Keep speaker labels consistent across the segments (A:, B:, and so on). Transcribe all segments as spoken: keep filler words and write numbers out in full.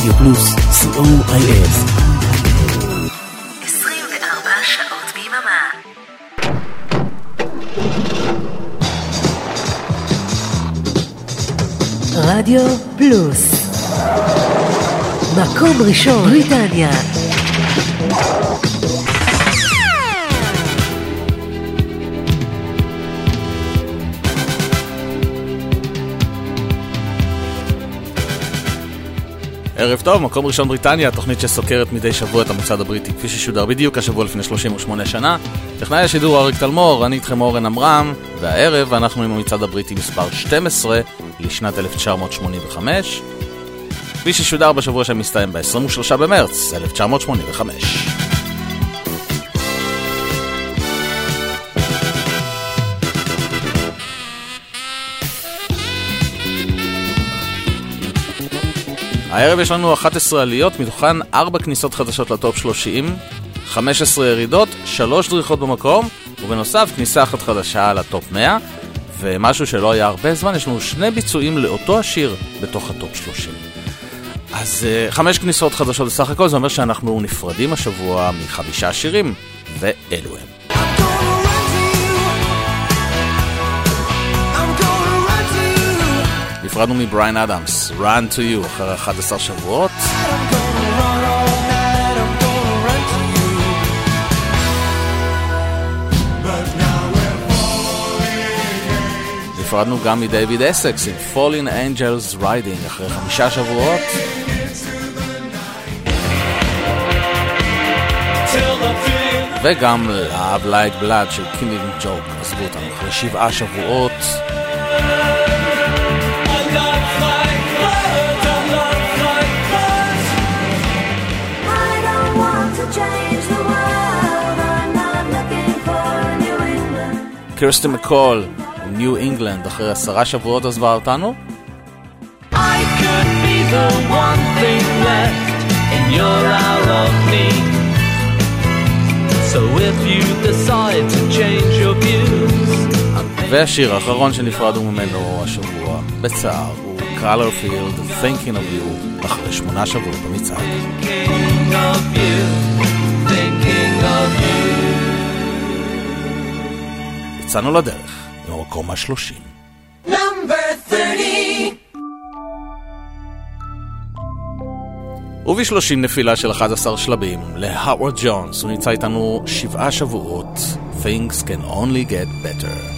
A: רדיו פלוס, סי או איי אס.
B: עשרים וארבע שעות ביממה. רדיו פלוס, מקום ראשון בריטניה.
C: ערב טוב, מקום ראשון בריטניה, תוכנית שסוקרת מדי שבוע את המצעד הבריטי כפי ששודר בדיוק השבוע לפני שלושים ושמונה שנה. טכנאי השידור אריק תלמור, אני איתכם אורן אמרם, והערב אנחנו עם המצעד הבריטי מספר שתים עשרה לשנת אלף תשע מאות שמונים וחמש, כפי ששודר בשבוע שמסתיים ב-עשרים ושלושה במרץ אלף תשע מאות שמונים וחמש. הערב יש לנו אחת עשרה עליות, מתוכן ארבע כניסות חדשות לטופ שלושים, חמש עשרה ירידות, שלוש דריכות במקום, ובנוסף כניסה אחת חדשה לטופ מאה, ומשהו שלא היה הרבה זמן, יש לנו שני ביצועים לאותו השיר בתוך הטופ שלושים. אז uh, חמש כניסות חדשות בסך הכל, זה אומר שאנחנו נפרדים השבוע מחמישה שירים, ואלו הם. נפרדנו מבריין אדמס, Run to You, אחרי אחד עשר שבועות. נפרדנו גם מדייוויד אסקס עם Falling Angels Riding, אחרי חמישה שבועות. וגם Love Like Blood של Killing Joke, עזבו אותנו אחרי שבעה שבועות. קירסטי מקול, ניו אינגלנד, אחרי עשרה שבועות עזבה אותנו.
D: I could be the one thing left in your hour of need. So if you decide to change your views.
C: והשיר האחרון שנפרדנו ממנו השבוע בצער הוא Colorfield, Thinking of You, אחרי שמונה שבועות במצעד.
D: Thinking of you, thinking of you.
C: יצאנו לדרך, במקום השלושים.
D: Number thirty.
C: ובשלושים נפילה של אחד עשר שלבים להאוורד ג'ונס, הוא נמצא איתנו שבעה שבועות. Things can only get better.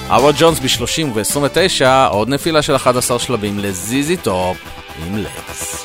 C: אבו ג'ונס ב-שלושים וב-עשרים ותשע, עוד נפילה של אחד עשר שלבים לזיזי טופ עם לטס.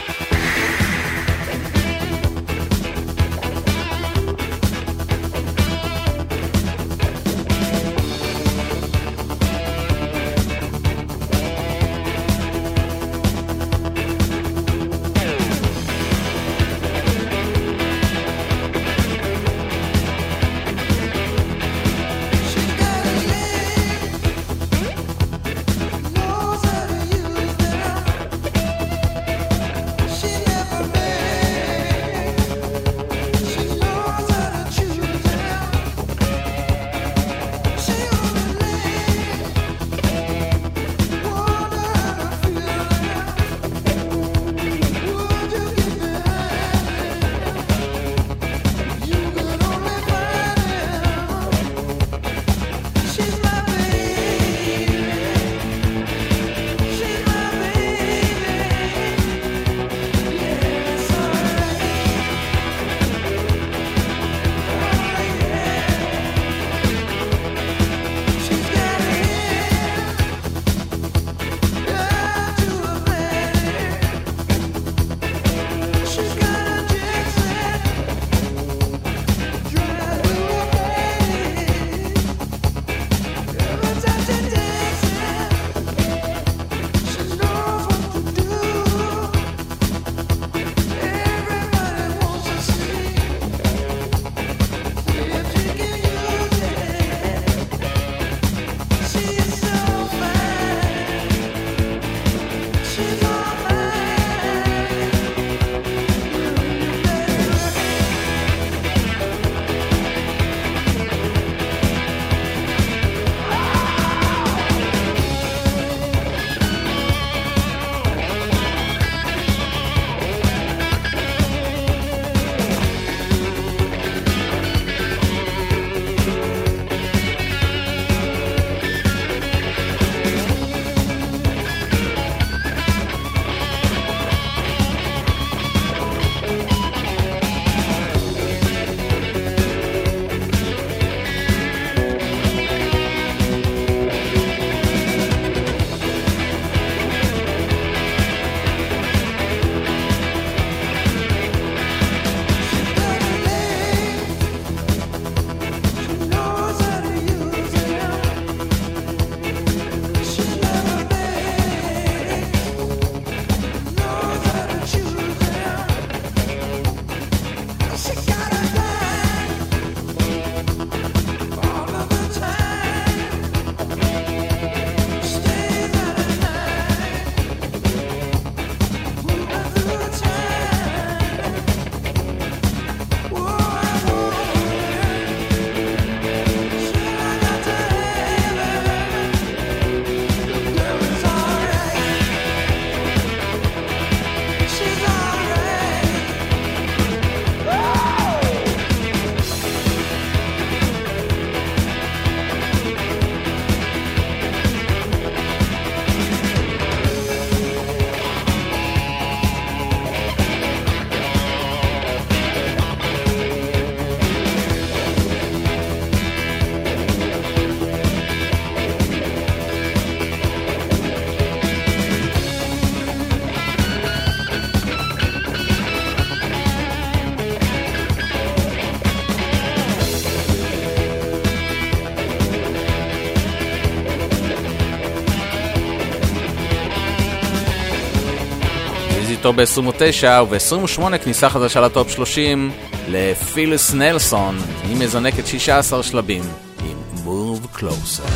E: ב-עשרים ותשע וב-עשרים ושמונה כניסה חדשה לטופ שלושים לפיליס נלסון, היא מזנקת שישה עשר שלבים עם Move Closer.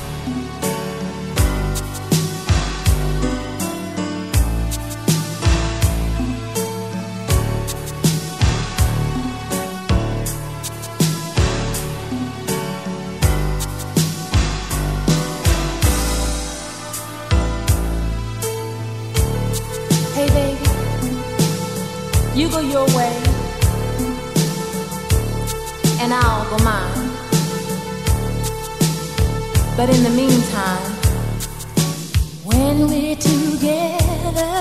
F: But in the meantime, when we're together,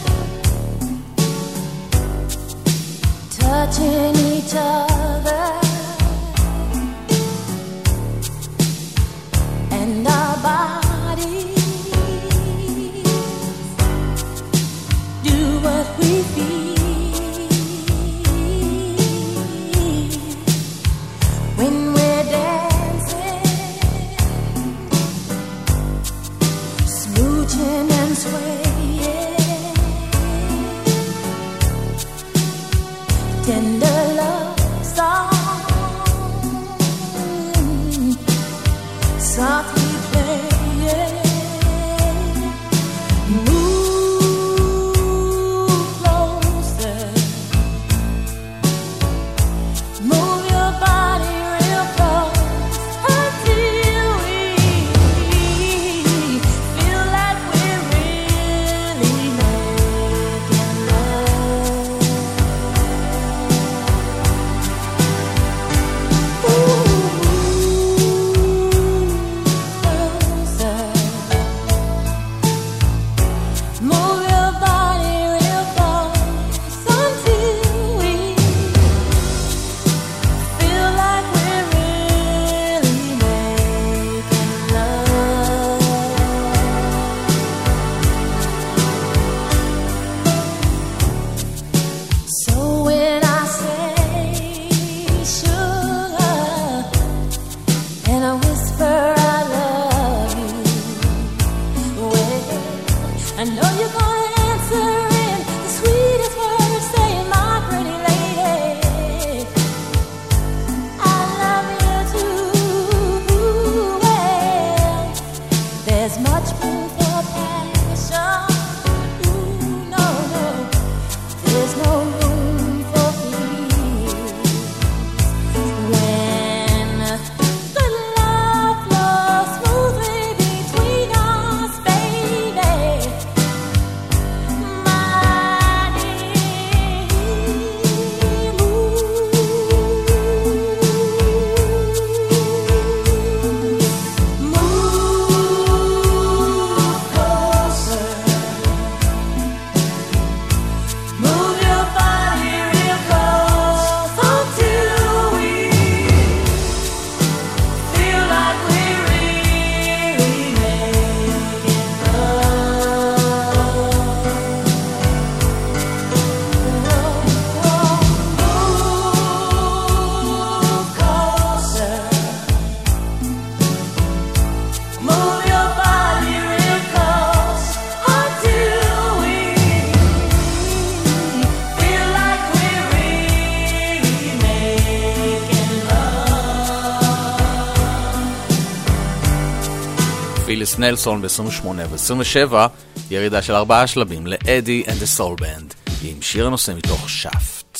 F: touching each other, and tender love song, softly playing. Move closer, move your body real close until we feel like we're really making love. Ooh, closer, move your body real close until we feel like we're really making love. So when I say sugar and I whisper I love you, well, I know you're gonna answer in the sweetest words, saying, my pretty lady, I love you too. Well, there's much room for passion. Ooh, no, no, there's no room for fears. When the love flows smoothly between us, baby, my dear, move closer, move your body real close until we feel like we're really making love. Move closer, move your body real close until we feel like we're really making love.
C: פיליס נלסון ב-עשרים ושמונה ו-עשרים ושבע, ירידה של ארבעה שלבים לאדי and the Soul Band, עם שיר הנושא מתוך שפט.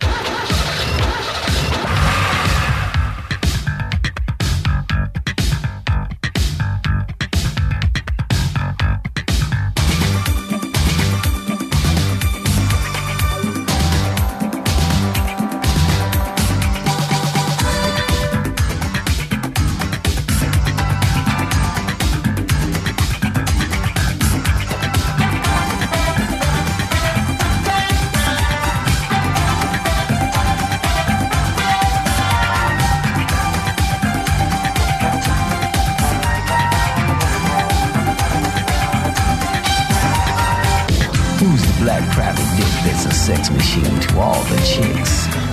A: Who's the black private dick that's a sex machine to all the chicks?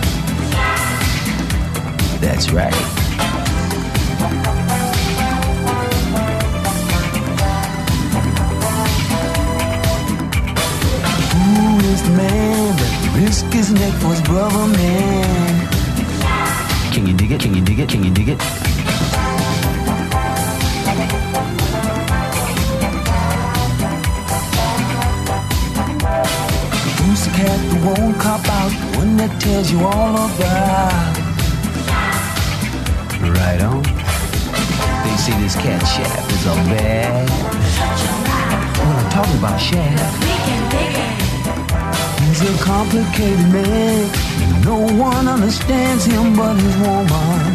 A: That's right. Who is the man that risked his neck for his brother, man? Can you dig it? Can you dig it? Can you dig it? Who's the cat that won't cop out? The one that tells you all about. Right on. They say this cat Shaft is all bad. Well, I'm talking about Shaft. He's a complicated man. No one understands him but his woman.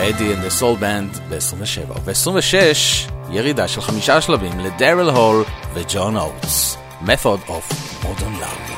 C: אדי and the Soul Band ב-עשרים ושבע. וב-עשרים ושש ירידה של חמישה שלבים לדרל הול וג'ון אוטס. Method of Modern Love.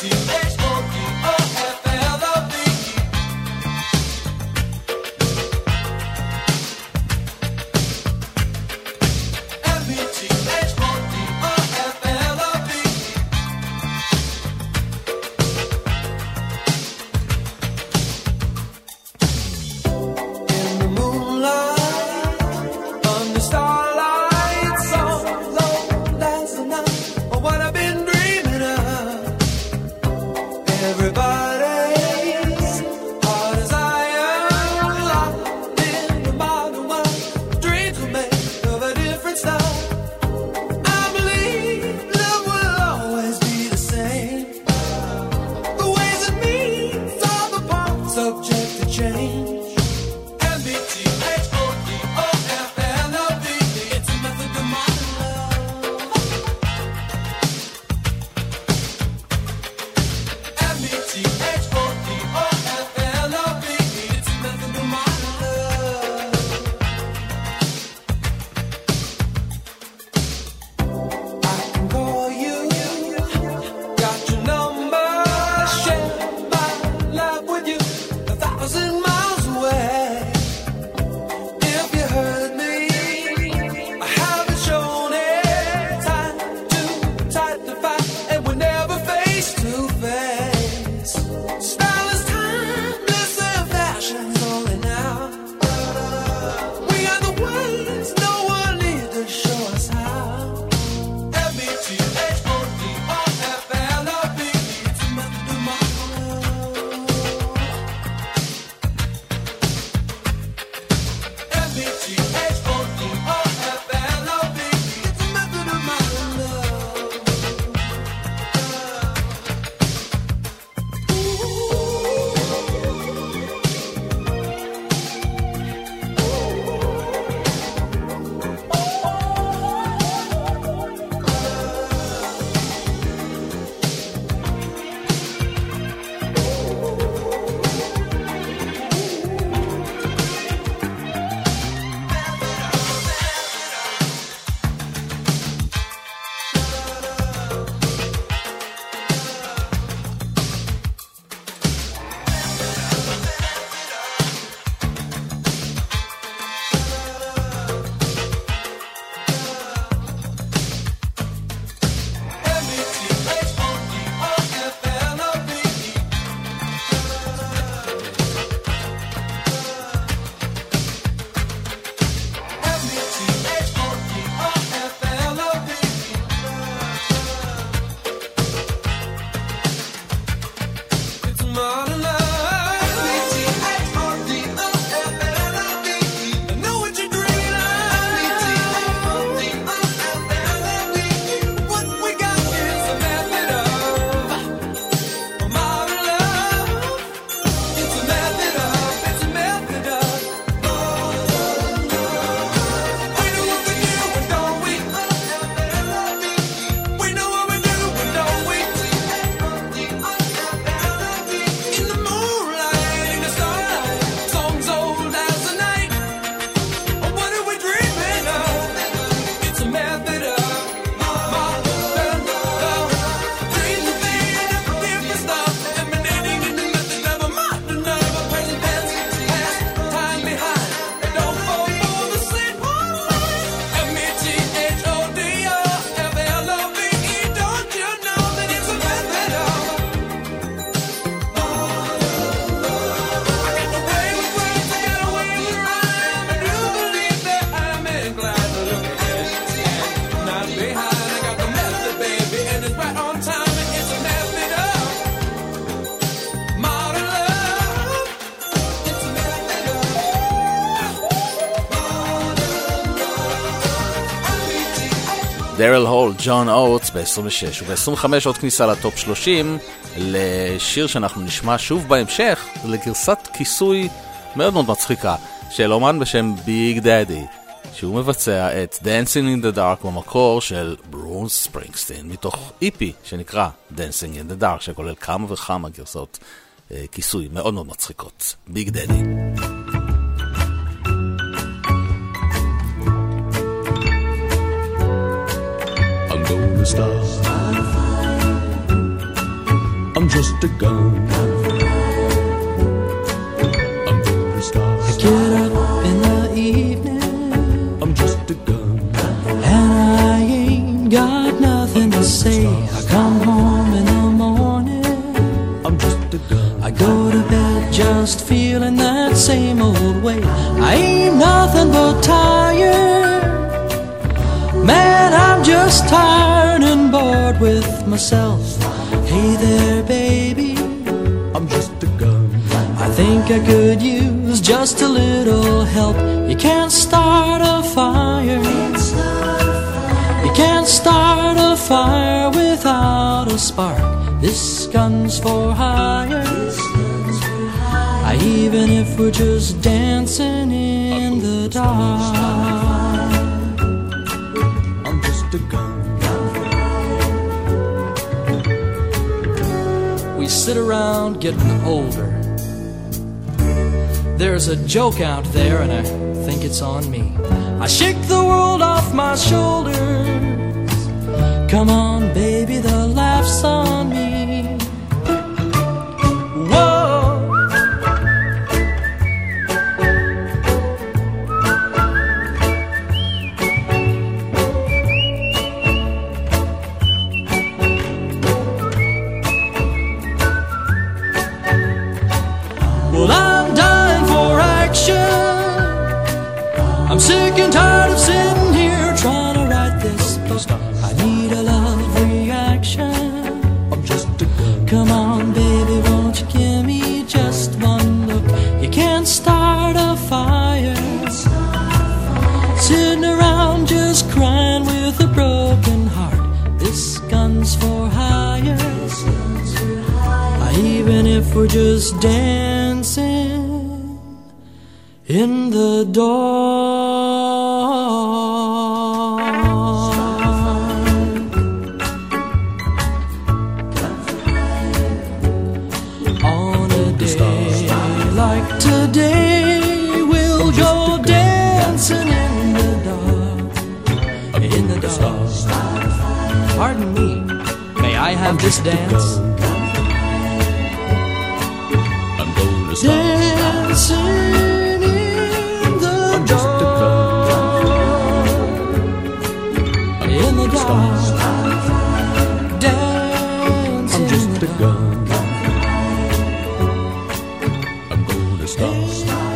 F: M E T H O D O F L O V E
C: דרל הול, ג'ון אוטס ב-עשרים ושש, וב-עשרים וחמש עוד כניסה לטופ שלושים לשיר שאנחנו נשמע שוב בהמשך, לגרסת כיסוי מאוד מאוד מצחיקה של אומן בשם ביג דאדי, שהוא מבצע את Dancing in the Dark במקור של ברוס ספרינגסטין, מתוך איפי שנקרא Dancing in the Dark, שכולל כמה וכמה גרסות אה, כיסוי מאוד מאוד מצחיקות. ביג דאדי.
G: I'm gonna stop. I'm just a gun. I'm gonna stop.
H: I get up in the evening,
G: I'm just a gun.
H: and I ain't got nothing to say. I come home in the morning,
G: I'm just a gun.
H: I go to bed just feeling that same old way. I ain't nothing but tired. Man, I'm just tired and bored with myself. Hey there, baby,
G: I'm just a gun.
H: I think I could use just a little help. You can't start a fire. You can't start a fire without a spark. This gun's for hire. I, even if we're just dancing in the dark.
G: I'm just a gun.
H: We sit around getting older. There's a joke out there and I think it's on me. I shake the world off my shoulders. Come on, baby, the laugh's on me. Whoa. Well, I'm dying for action. I'm sick and tired of sitting here trying to write this book. I need a love reaction.
G: I'm just a gun.
H: Come on, baby, won't you give me just one look? You can't start a fire sitting around just crying with a broken heart. This gun's for hire. Even if we're just dancing in the dark. On a day like today, we'll go dancing in the dark. In the dark. Pardon me, may I have this dance? Dancing in the dark, in the dark, dancing.
G: I'm just a gun. I'm gonna stop.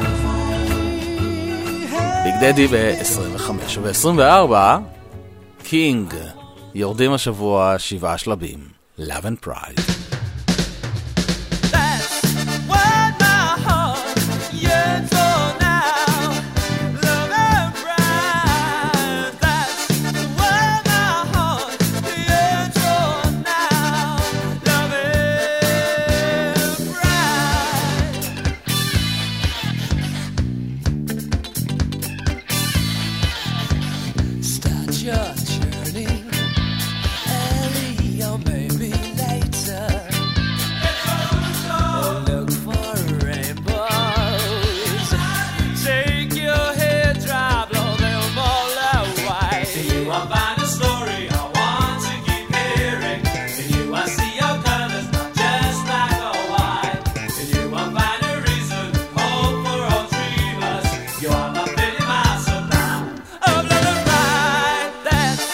C: ביג דדי ב-עשרים וחמש, וב-עשרים וארבע קינג יורדים השבוע שבעה שלבים, Love and Pride.
F: That's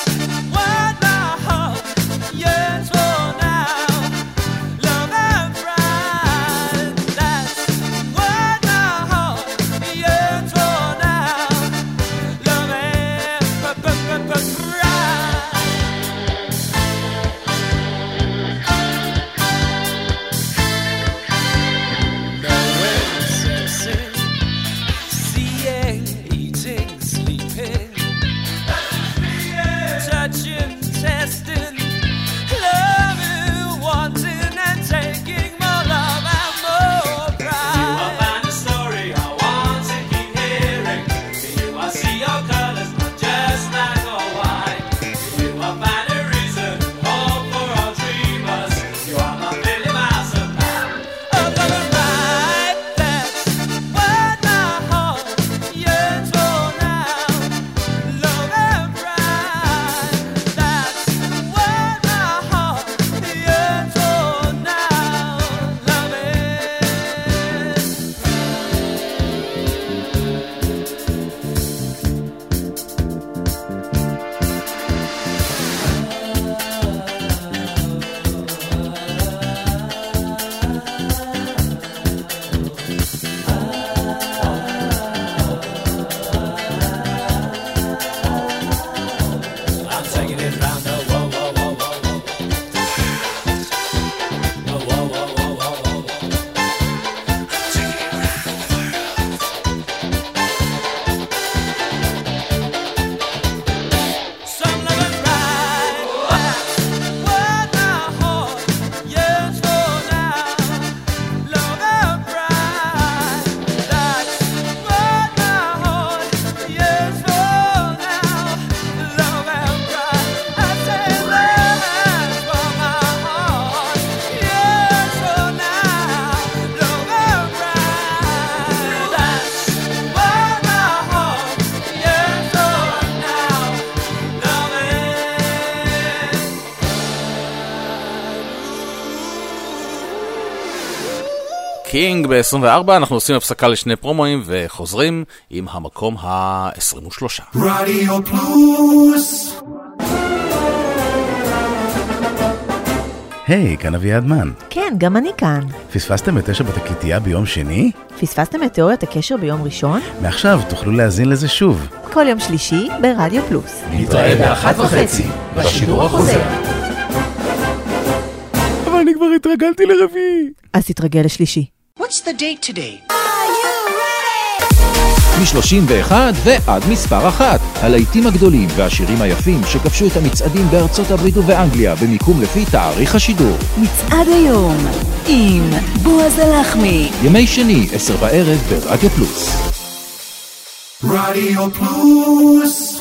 C: קינג ב-עשרים וארבע, אנחנו עושים הפסקה לשני פרומואים וחוזרים עם המקום ה-עשרים ושלוש.
I: רדיו פלוס.
J: היי, כאן אביעד מן.
B: כן, גם אני כאן.
J: פספסתם את תשע בתקליטייה ביום שני?
B: פספסתם את תיאוריית הקשר ביום ראשון?
J: מעכשיו תוכלו להאזין לזה שוב.
B: כל יום שלישי ברדיו פלוס.
I: נתראה באחת וחצי, בשידור החוזר.
J: אבל אני כבר התרגלתי לרביעי.
B: אז תתרגל לשלישי.
K: What's the date today?
L: מ-שלושים ואחת ועד מספר אחת. הלהיטים הגדולים והשירים היפים שכבשו את המצעדים בארצות הברית ובאנגליה במיקום לפי תאריך השידור.
B: מצעד היום עם בועז הלחמי.
L: ימי שני, עשר בערב ברדיו פלוס.
I: רדיו פלוס.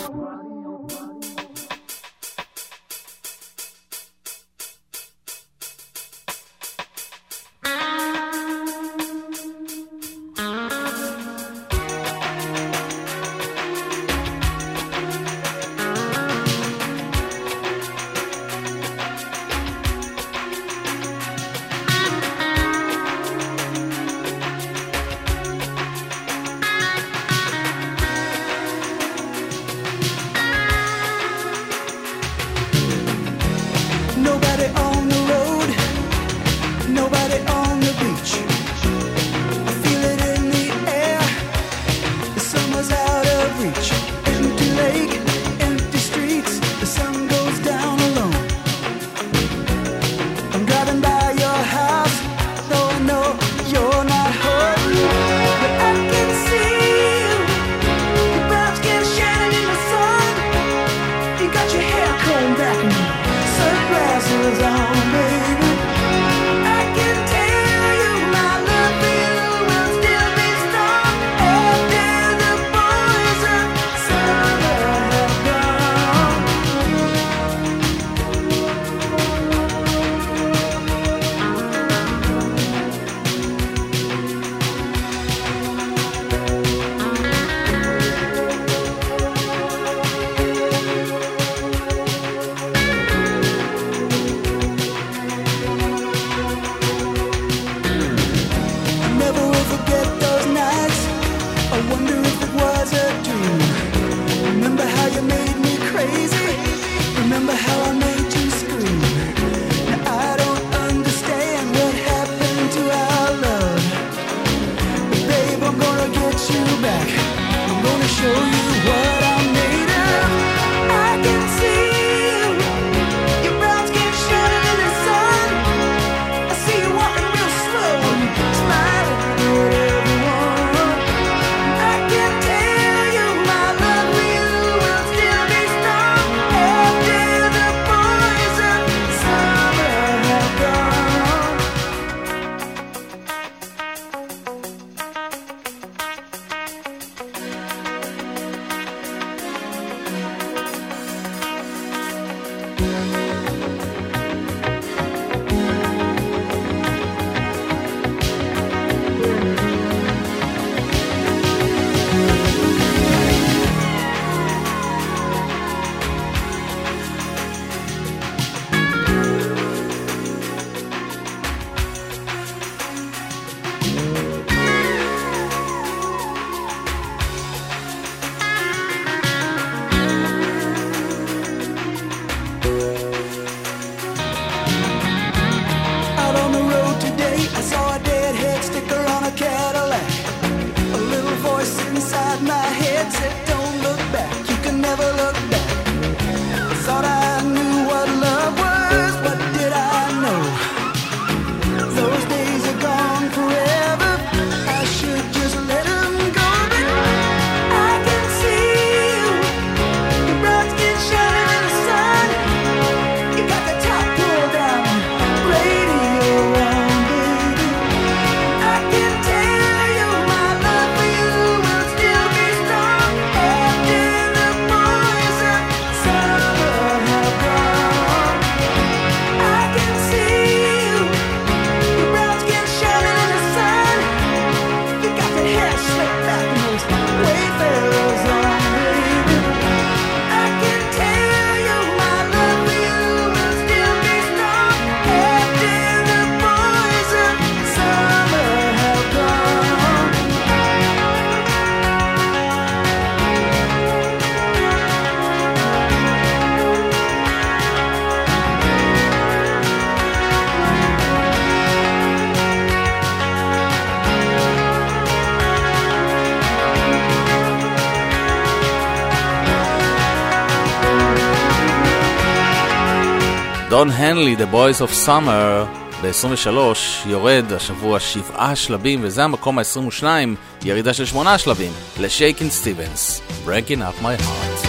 C: דון הנלי, The Boys of Summer, ב-עשרים ושלוש יורד השבוע שבעה שלבים, וזה המקום ה-עשרים ושניים, ירידה של שמונה שלבים, לשייקין סטיבנס, Breaking Up My Heart.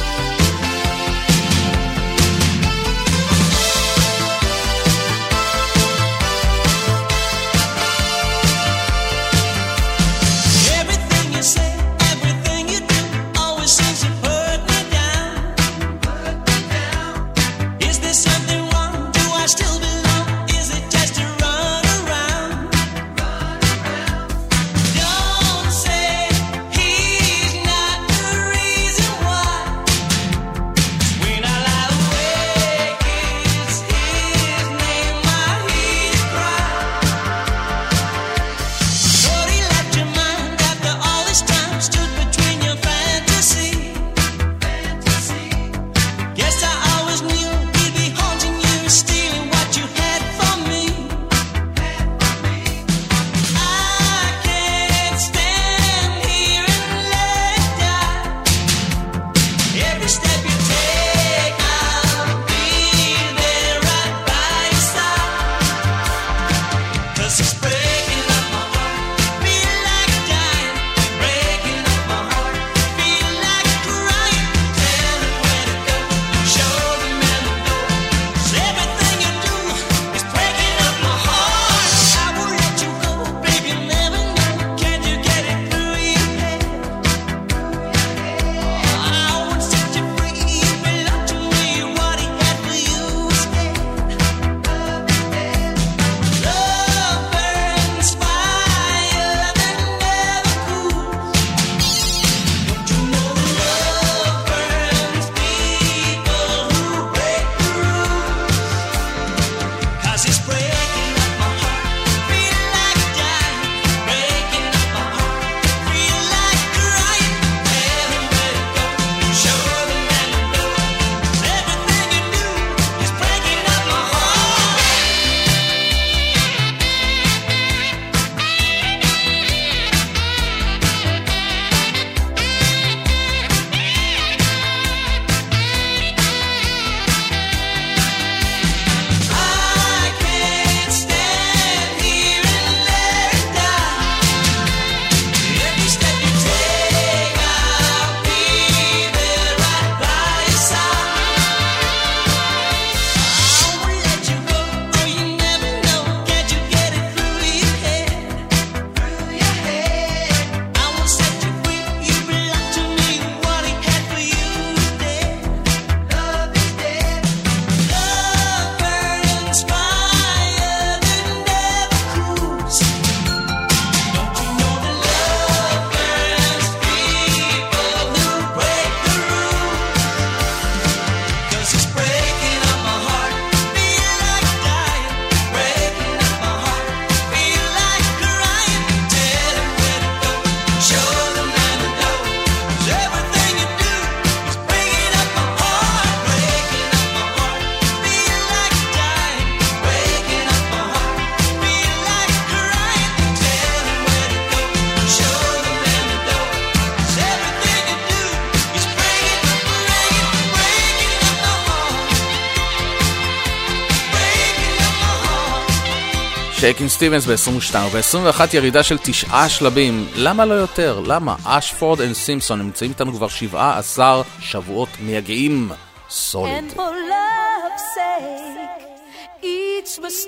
C: שייקין סטיבנס ב-עשרים ושתיים, וב-עשרים ואחת ירידה של תשעה שלבים. למה לא יותר? למה? אשפורד אנד סימפסון נמצאים איתנו כבר שבעה עשר שבועות מייגעים. סוליד.
F: And for love's sake, each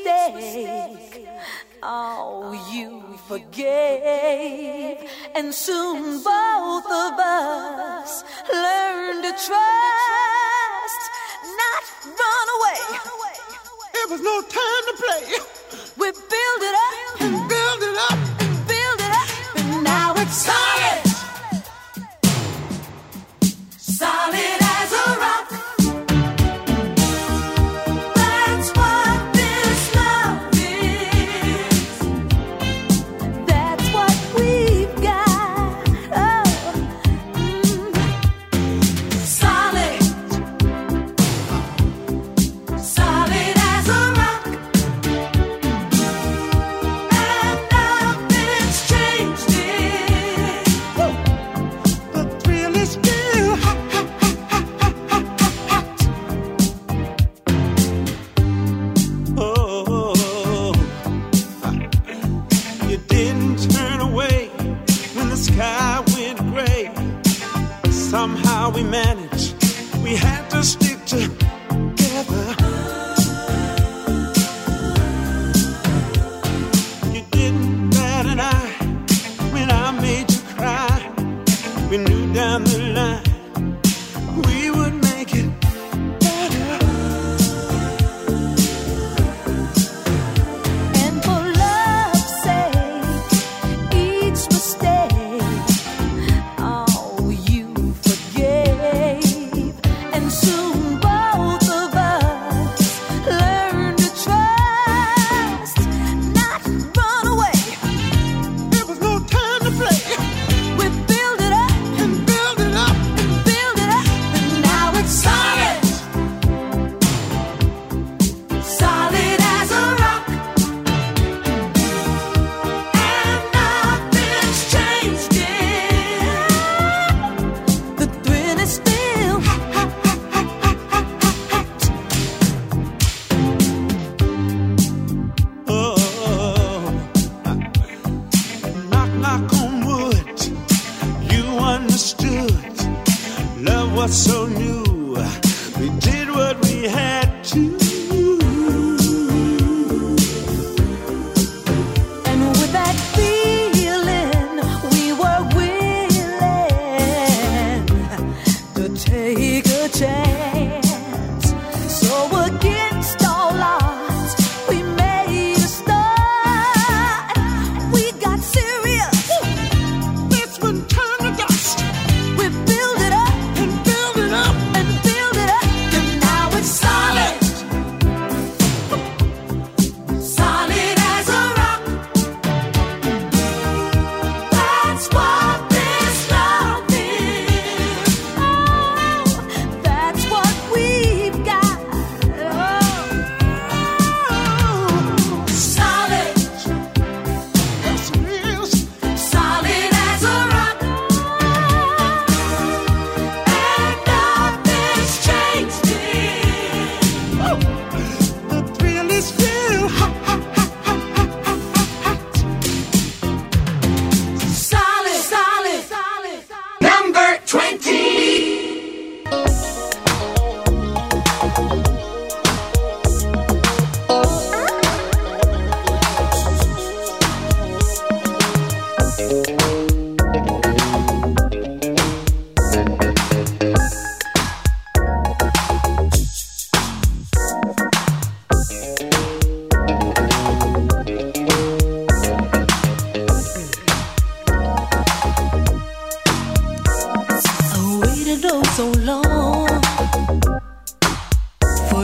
F: mistake, oh, you forgave. And soon both of us learn to trust, not run away.
I: It was no time to play.
F: We build it up and build it up and build it up, and now it's solid, solid as a rock. That's what this love is. That's what we've got. Oh, mm. Solid, solid as a rock. And nothing's changed it.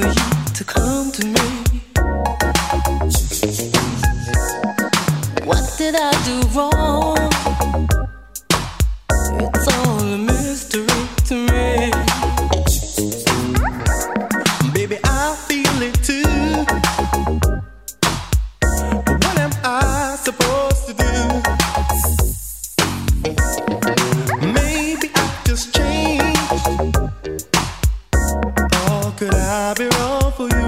F: you to come to me. What did I do wrong? It's all a mystery to me.
I: Baby, I feel it too. What am I supposed to do? Maybe I just changed. Or could I be wrong for you?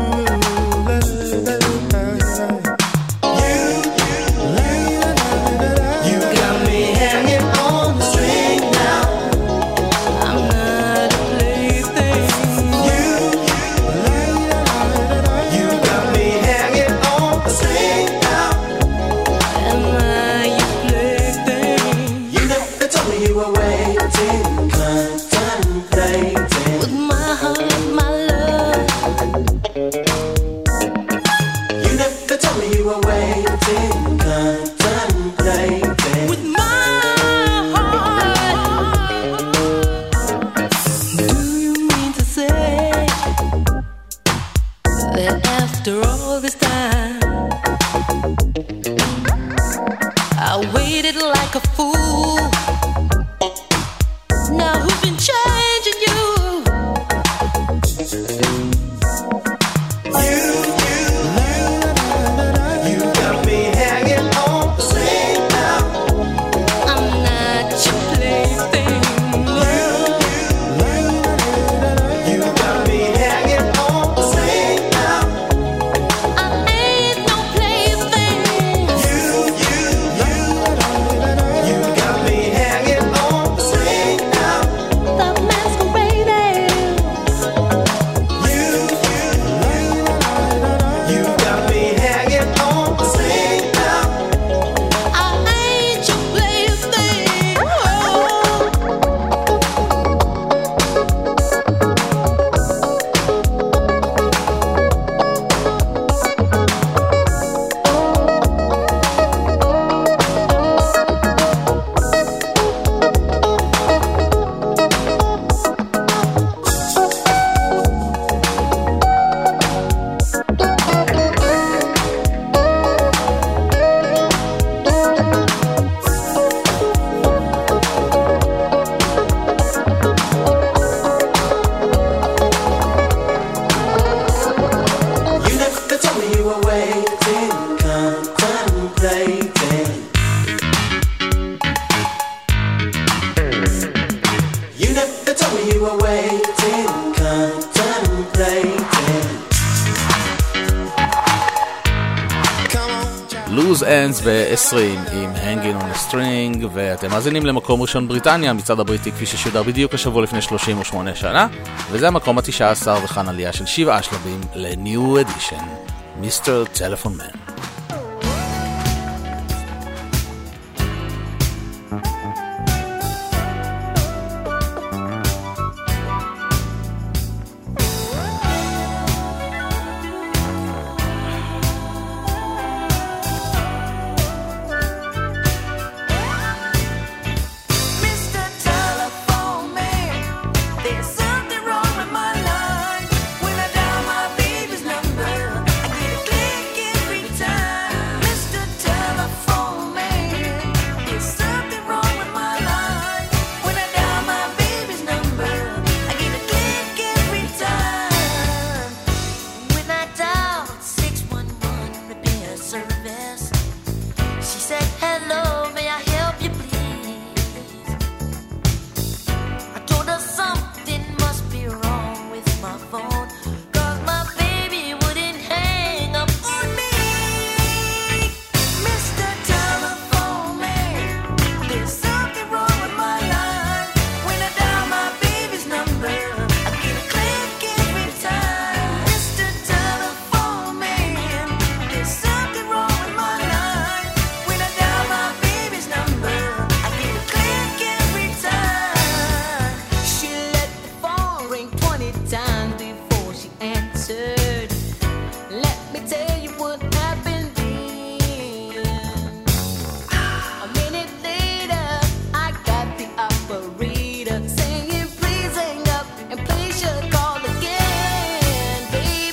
C: ב-עשרים עם Hanging on a String, ואתם מאזינים למקום ראשון בריטניה, מצד הבריטי כפי ששודר בדיוק השבוע לפני שלושים ושמונה שנה, וזה המקום ה-תשע עשרה וכאן עלייה של שבעה שלבים ל-New Edition, מיסטר Telephone Man.
F: Saying please hang up and please should call again, baby.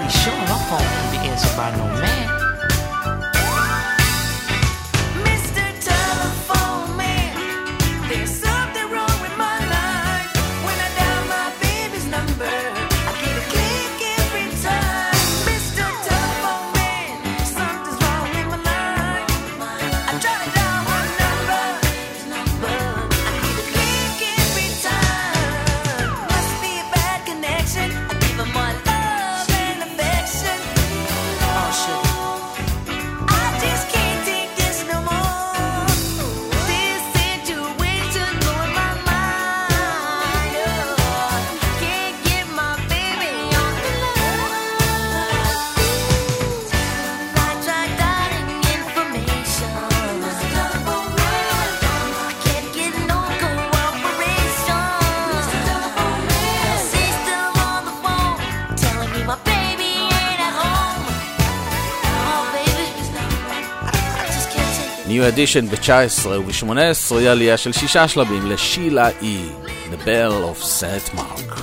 M: really sure her phone can be answered by no man.
C: New Edition ב-תשע עשרה וב-שמונה עשרה היא עלייה של שישה שלבים לשילה אי, The Bell of Saint Mark.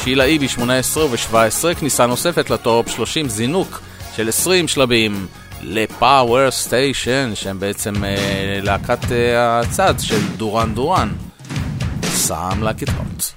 C: שילה איבי שמונה עשרה וב-שבע עשרה, כניסה נוספת לטופ שלושים, זינוק של עשרים שלבים לפאוור סטיישן, שהם בעצם אה, להקת אה, הצד של דורן דורן. Some Like It Hot.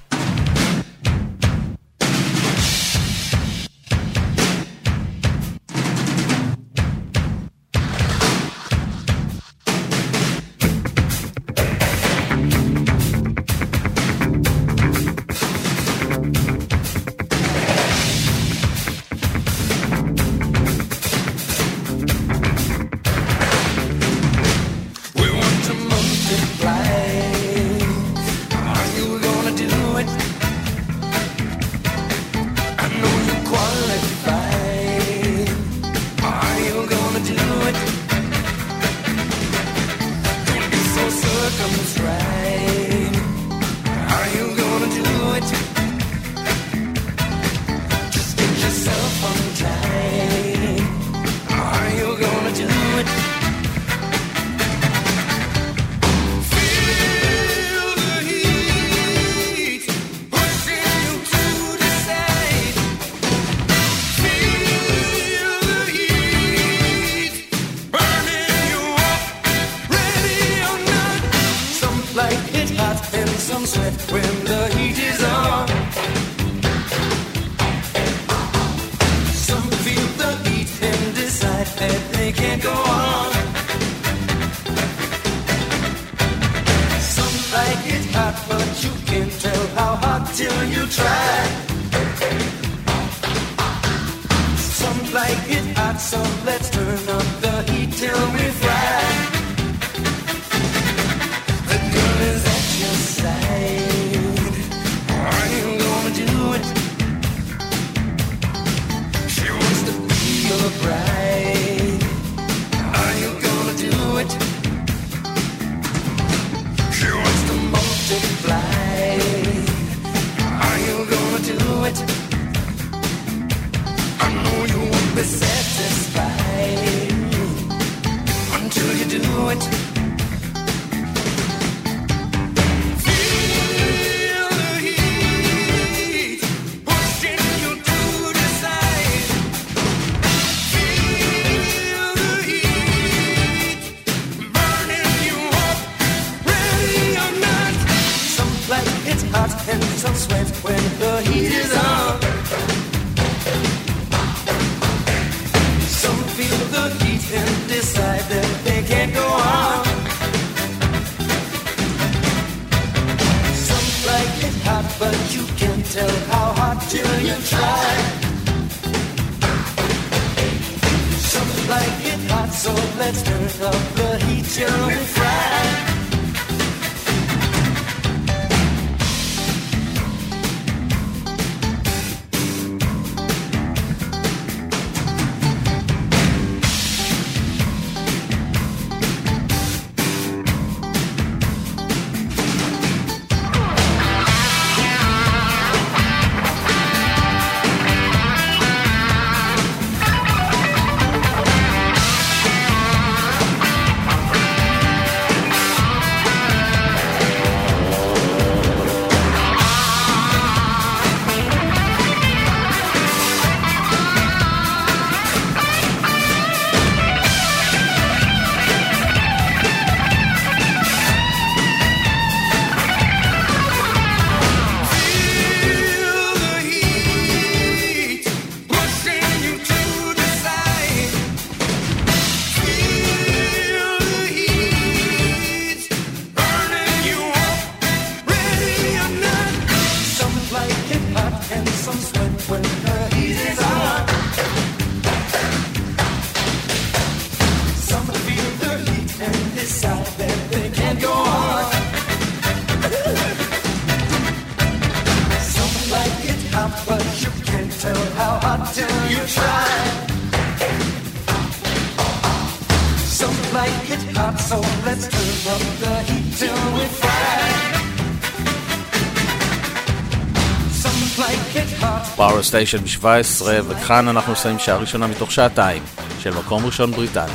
C: פאוור סטיישן ב-שבע עשרה, וכאן אנחנו עושים שעה ראשונה מתוך שעתיים של מקום ראשון בריטניה.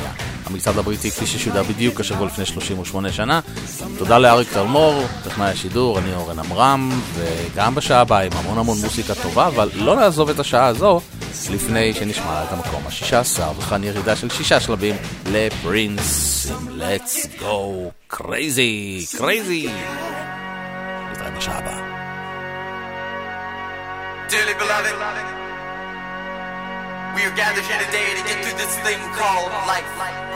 C: המצעד הבריטי כפי ששודר בדיוק השבוע לפני שלושים ושמונה שנה. תודה לאריק תלמור, טכנאי השידור, אני אורן אמרם, וגם בשעה הבאה עם המון המון מוסיקה טובה, אבל לא נעזוב את השעה הזו לפני שנשמע את המקום ה-שישה עשר, וכאן ירידה של שישה שלבים לפרינס עם Let's Go Crazy, Crazy. נתראה בשעה הבאה.
N: Dearly beloved, we are gathered here today to get through this thing called life.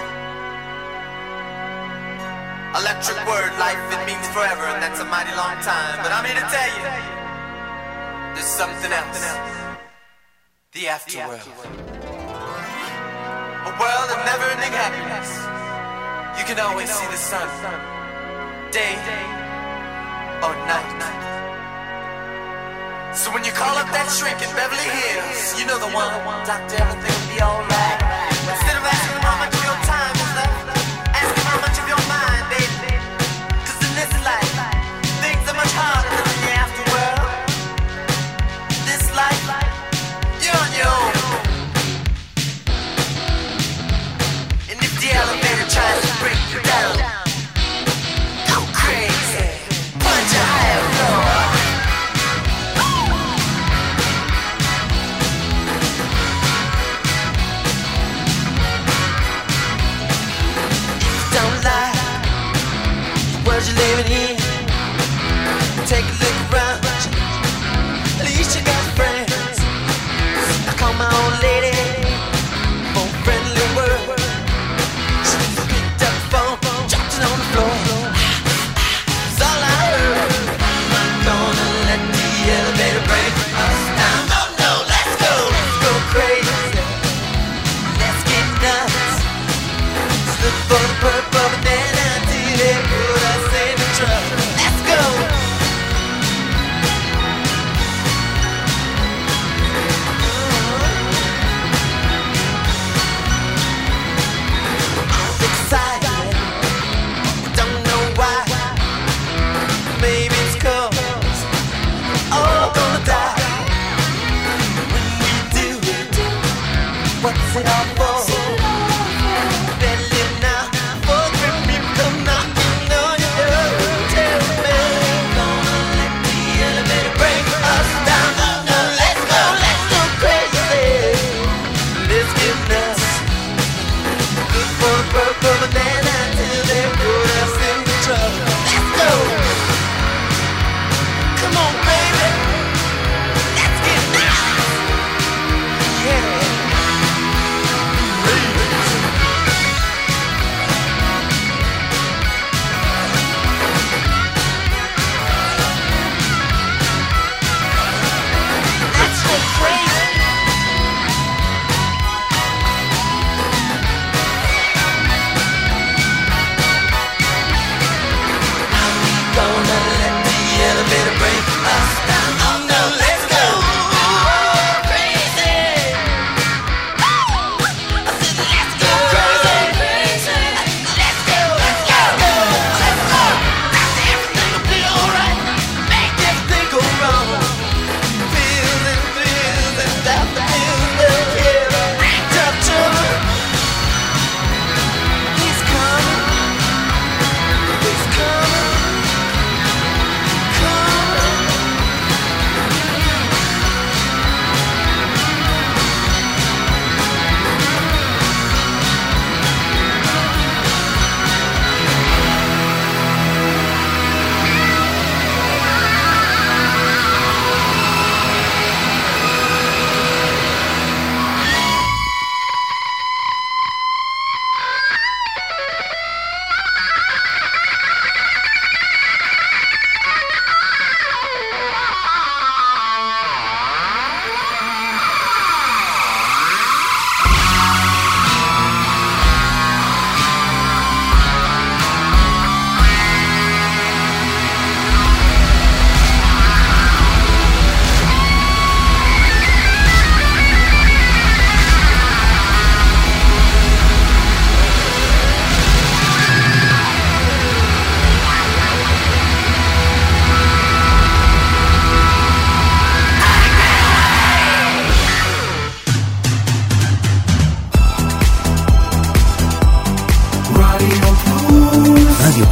N: Electric word, life, it means forever, and that's a mighty long time. But I'm here to tell you, there's something else. The afterworld. A world of never-ending happiness. You can always see the sun, day or night. So when you call up that shrink in Beverly Hills, you know the one, doctor, everything will be alright. Instead of asking how much of your time is left, ask him how much of your mind, baby. Cause in this life, things are much harder than in the afterworld. This life, you're on your own. And if the elevator tries to break you down, go crazy, punch a higher floor.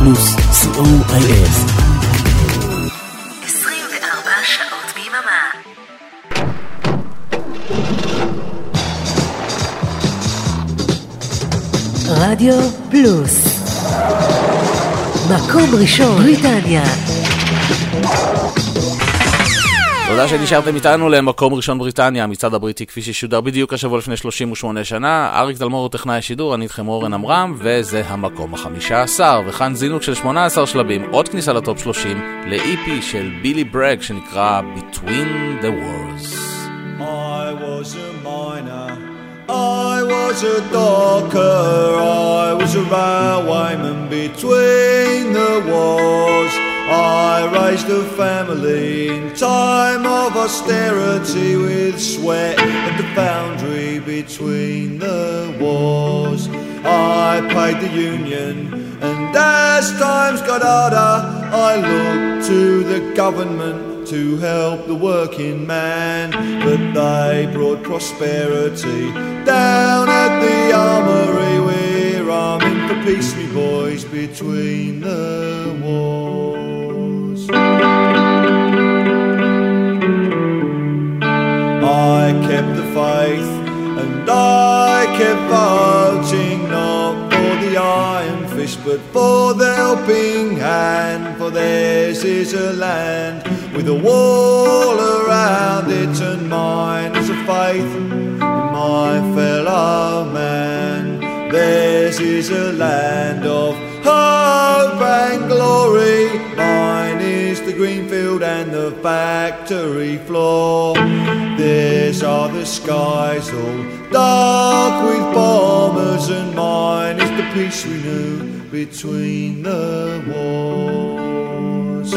A: פלוס, סי או איי אס.
B: עשרים וארבע שעות ביממה. רדיו פלוס, מקום ראשון בריטניה.
C: תודה שנשארתם איתנו למקום ראשון בריטניה, המצעד הבריטי כפי ששודר בדיוק השבוע לפני שלושים ושמונה שנה. אריק תלמור הוא טכנאי השידור, אני איתכם אורן אמרם, וזה המקום החמישה עשר, וכאן זינוק של שמונה עשר שלבים, עוד כניסה לטופ שלושים, ל-אי פי של בילי ברג שנקרא Between the Wars.
I: I was a miner, I was a docker, I was a railwayman between the wars. I raised a family in time of austerity with sweat at the foundry between the wars. I paid the union, and as times got harder, I looked to the government to help the working man, but they brought prosperity down at the armory. We're arming for peace, me boys, between the wars. I kept the faith and I kept voting, not for the iron fist but for the helping hand, for theirs is a land with a wall around it, and mine is a faith in my fellow man. Theirs is a land of hope and glory, mine is the green field and the factory floor. Theirs are the skies all dark with bombers, and mine is the peace we knew between the wars.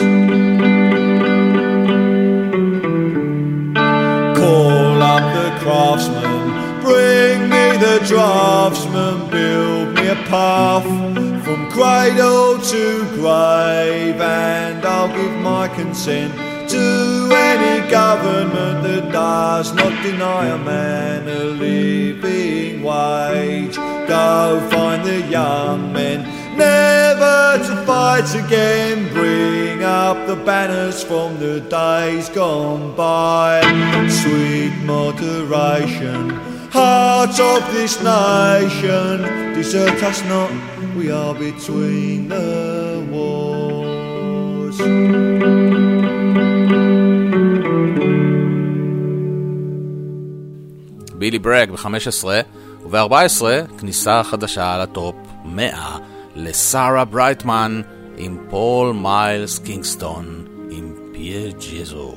I: Call up the craftsman, bring me the draftsman, build me a path from cradle to grave, and I'll give my consent to any government that does not deny a man a living wage. Go find the young men, never to fight again, bring up the banners from the days gone by. Sweet moderation, heart of this nation, desert us not, we are between the wars.
C: בילי ברג ב-חמש עשרה, וב-ארבע עשרה כניסה חדשה לטופ מאה לסארה ברייטמן עם פול מיילס קינגסטון עם פיה ג'זו.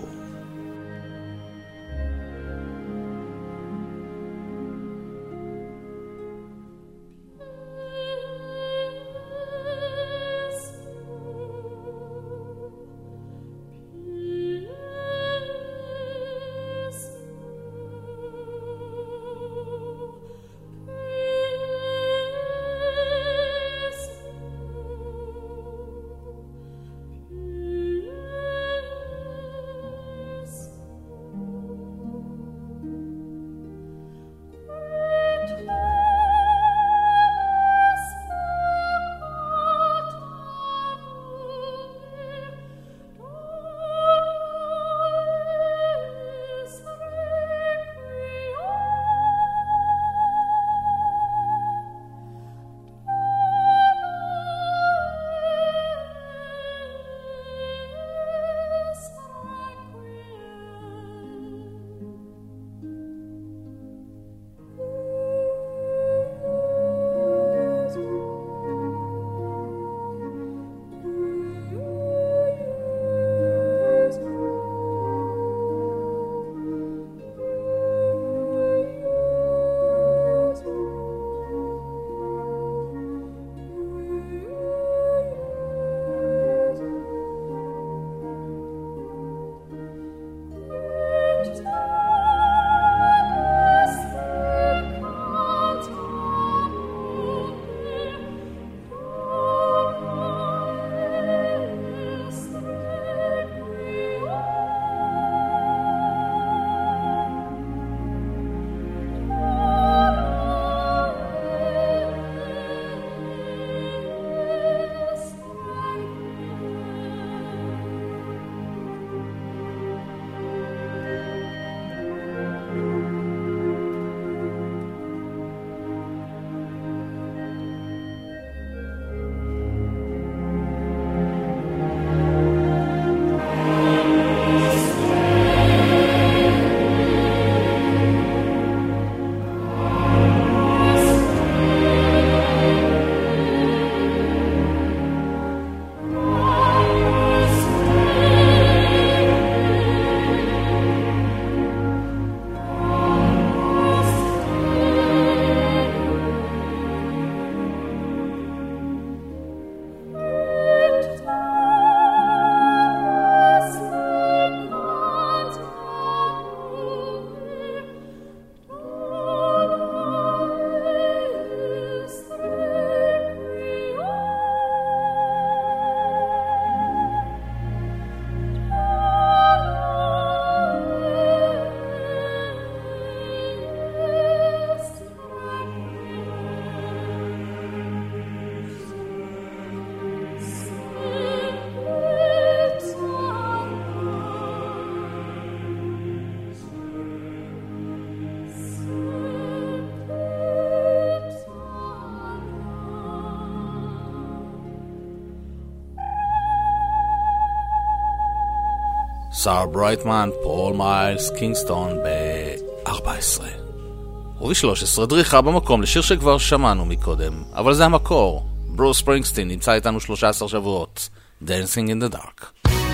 C: סארה ברייטמן, פול מיילס, קינגסטון ב-ארבע עשרה. וב-שלוש עשרה דריכה במקום לשיר שכבר שמענו מקודם, אבל זה המקור. ברוס ספרינגסטין נמצא איתנו שלושה עשר שבועות. Dancing in the Dark.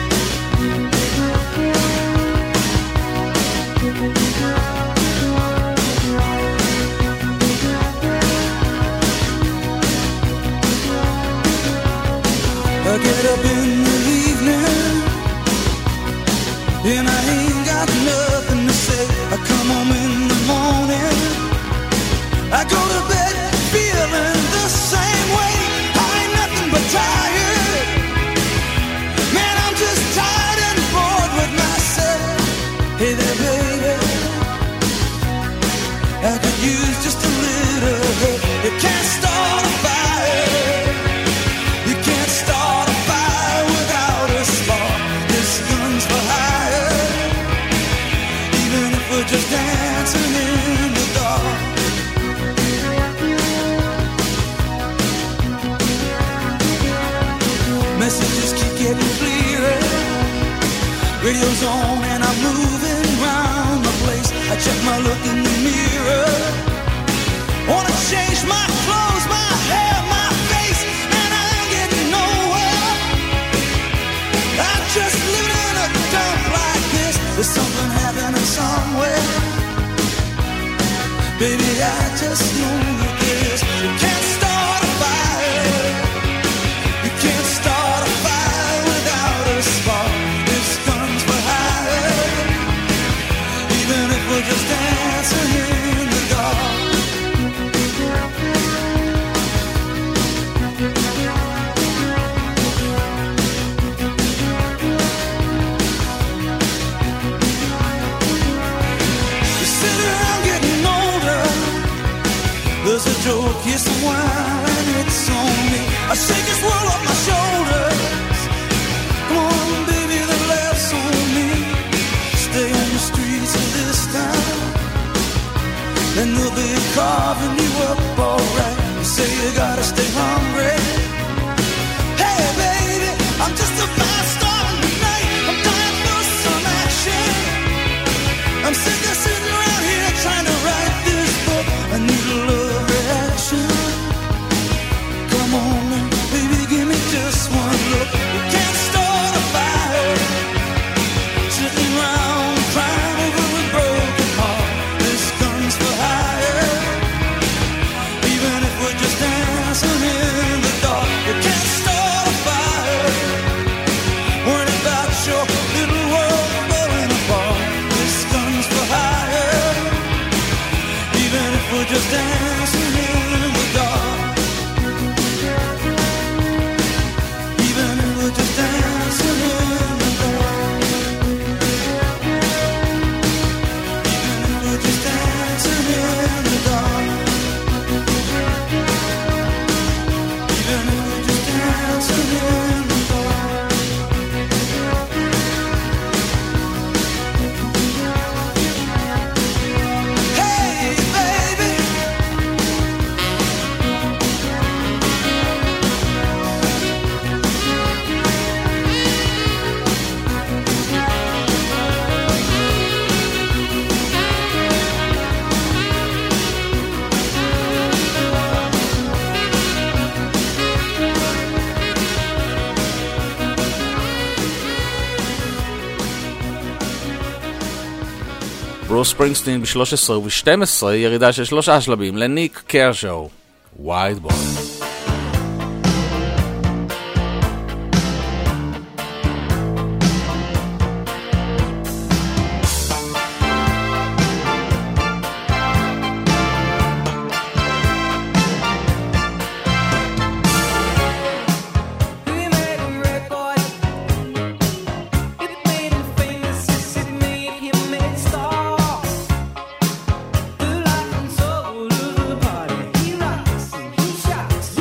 O: I get up in the evening and I ain't got nothing to say. I come home in the morning, I go to bed feeling the same way. I ain't nothing but tired. Man, I'm just tired and bored with myself. Hey there, baby, I could use just a little help. You can't start a fire. You can't start a fire without a spark. This gun's for hire. Even if we're just dancing in the dark. Messages keep getting clearer. Radio's on and I'm moving round the place. I check my look in the mirror. Wanna change my clothes, my hair, my face, and I ain't getting nowhere. I'm just living in a dump like this. There's something happening somewhere. Baby, I just know that this. You can't start a fire. You can't start a fire without a spark. This gun's for hire. Even if we're just dancing in the dark. There's a joke, here's some wine, it's on me. I shake this world off my shoulders. Come on, baby, the laughs on me. Stay on the streets of this town, and they'll be carving you up alright. You say you gotta stay hungry. Hey, baby, I'm just a fast star tonight. I'm dying for some action. I'm sick of sitting around here trying to write this book. I need a love reaction. Come on now, baby, give me just one look. You can't start a fire sitting around crying over a broken heart. This gun's for hire. Even if we're just dancing in the dark, you can't start a fire. Worrying about your little world falling apart. This gun's for hire. Even if we're just dancing in the dark. Even if we're just dancing in the dark. Even if we're just dancing in the dark. Even if we're just dancing in the dark. Hey, baby.
C: ברוס ספרינגסטין ב-שלוש עשרה וב-שתים עשרה ירידה של שלושה שלבים לניק קרשו, ווייד בוי.
O: He rocks and he shocks.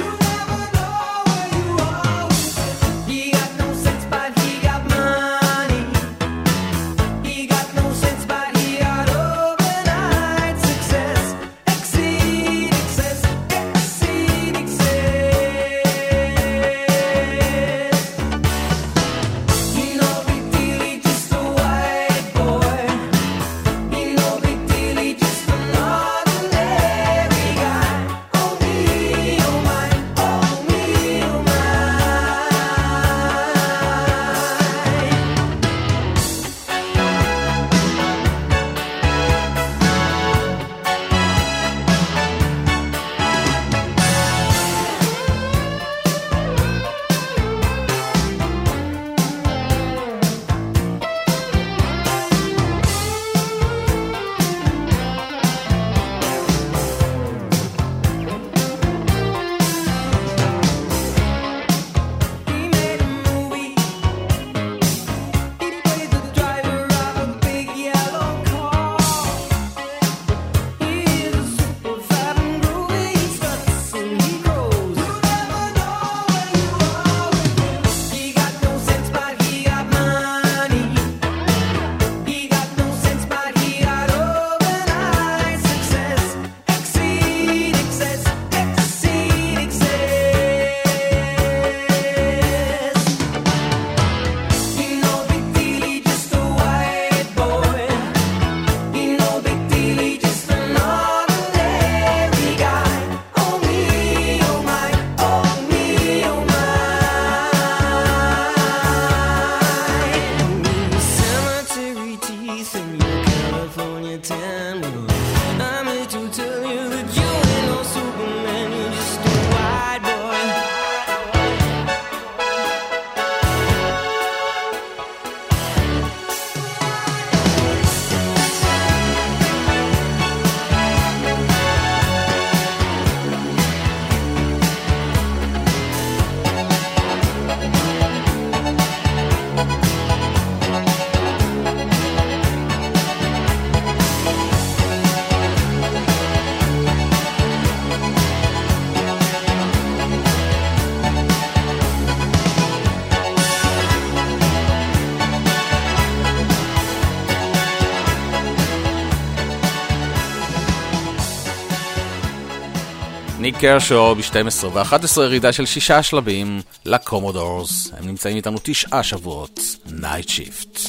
C: ניק קרשו ב-שתים עשרה ו-אחת עשרה ירידה של שישה שלבים לקומודורס. הם נמצאים איתנו תשעה שבועות. Night Shift.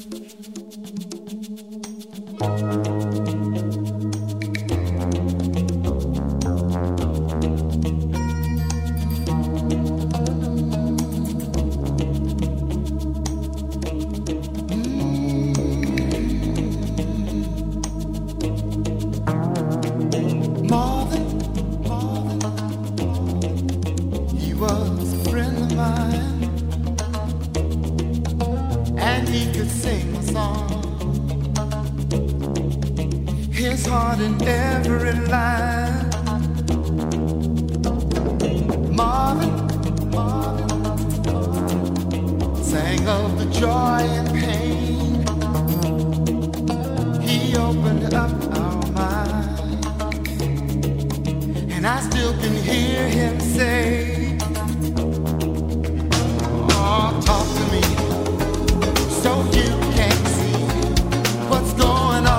P: Heart in every line. Marvin, Marvin sang of the joy and pain. He opened up our mind, and I still can hear him say, oh, talk to me so you can see what's going on.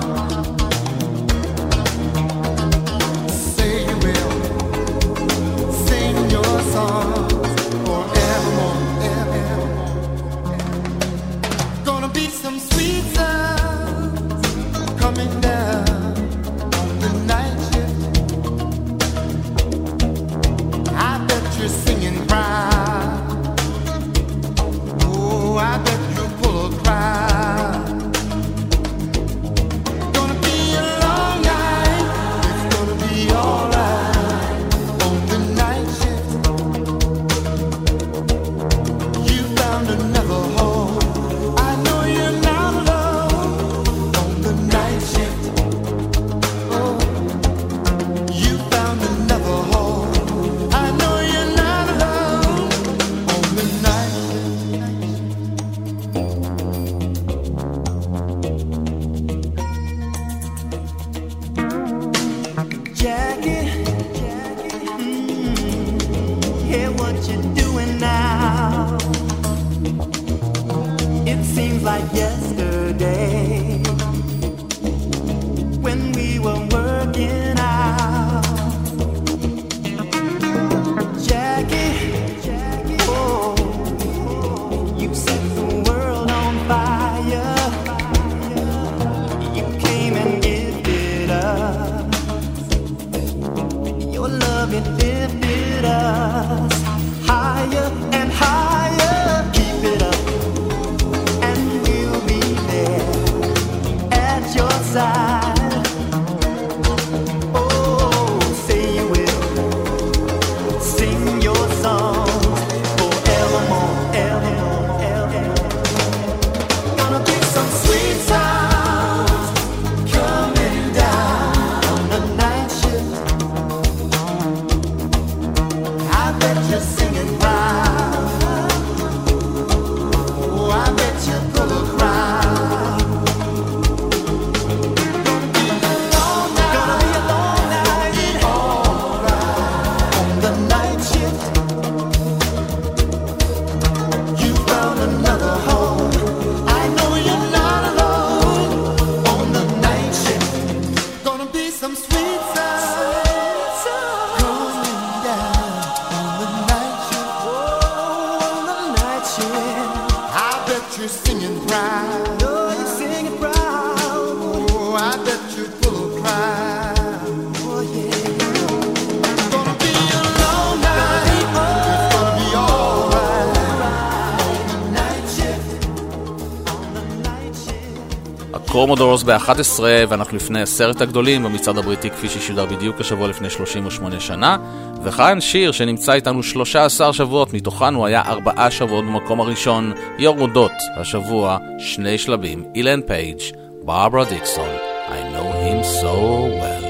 C: קומודורס ב-אחת עשרה, ואנחנו לפני עשרת הגדולים במצעד הבריטי כפי ששודר בדיוק השבוע לפני שלושים ושמונה שנה. וכאן שיר שנמצא איתנו שלושה עשר שבועות, מתוכן הוא היה ארבעה שבועות במקום הראשון, יורדות השבוע שני שלבים, אילן פייג', ברברה דיקסון, I know him so well.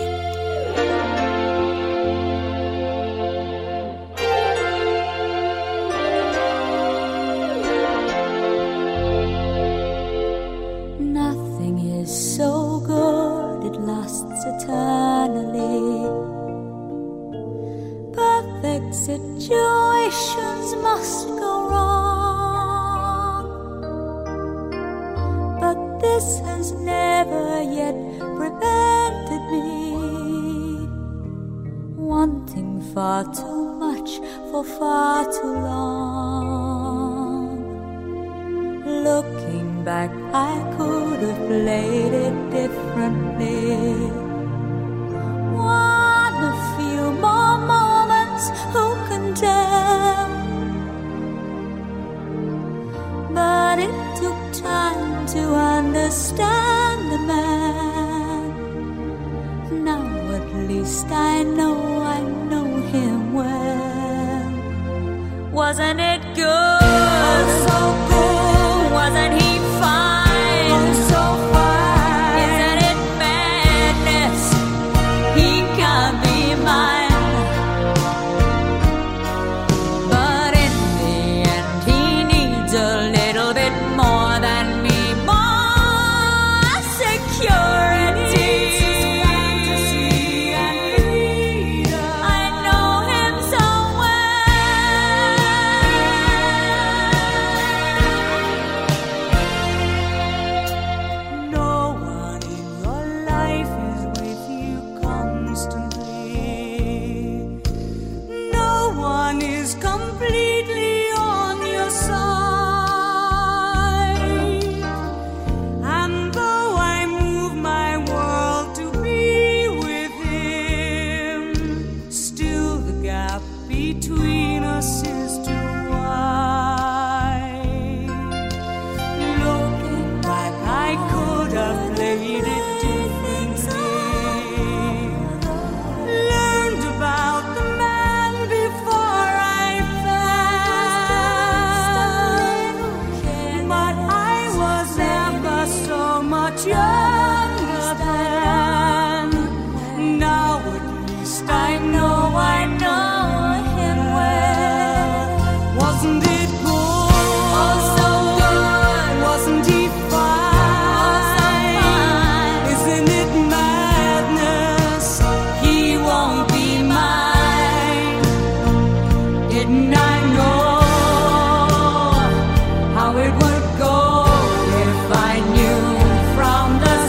F: Situations must go wrong, but this has never yet prevented me. One far too much for far too long. Looking back, I could have played it differently. Want a few more moments, who can tell? But it took time to understand the man. Now at least I know I know him well. Wasn't it good? Oh, so good. Wasn't he fine? Oh, so fine. Isn't it madness? He can't be mine. But in the end, he needs a little bit more than me, more security. I know him so well. No one in your life is with you constantly. No one is completely on your side. And though I move my world to be with him, still the gap between us is too wide. Looking back, I could have played it differently. Learned about the man before I fell. But I was never so much younger then. Now at least I know I know him well. Wasn't it good? Oh, so good. Wasn't he fine? Isn't it madness? He won't be mine. Didn't I know how it would go if I knew from the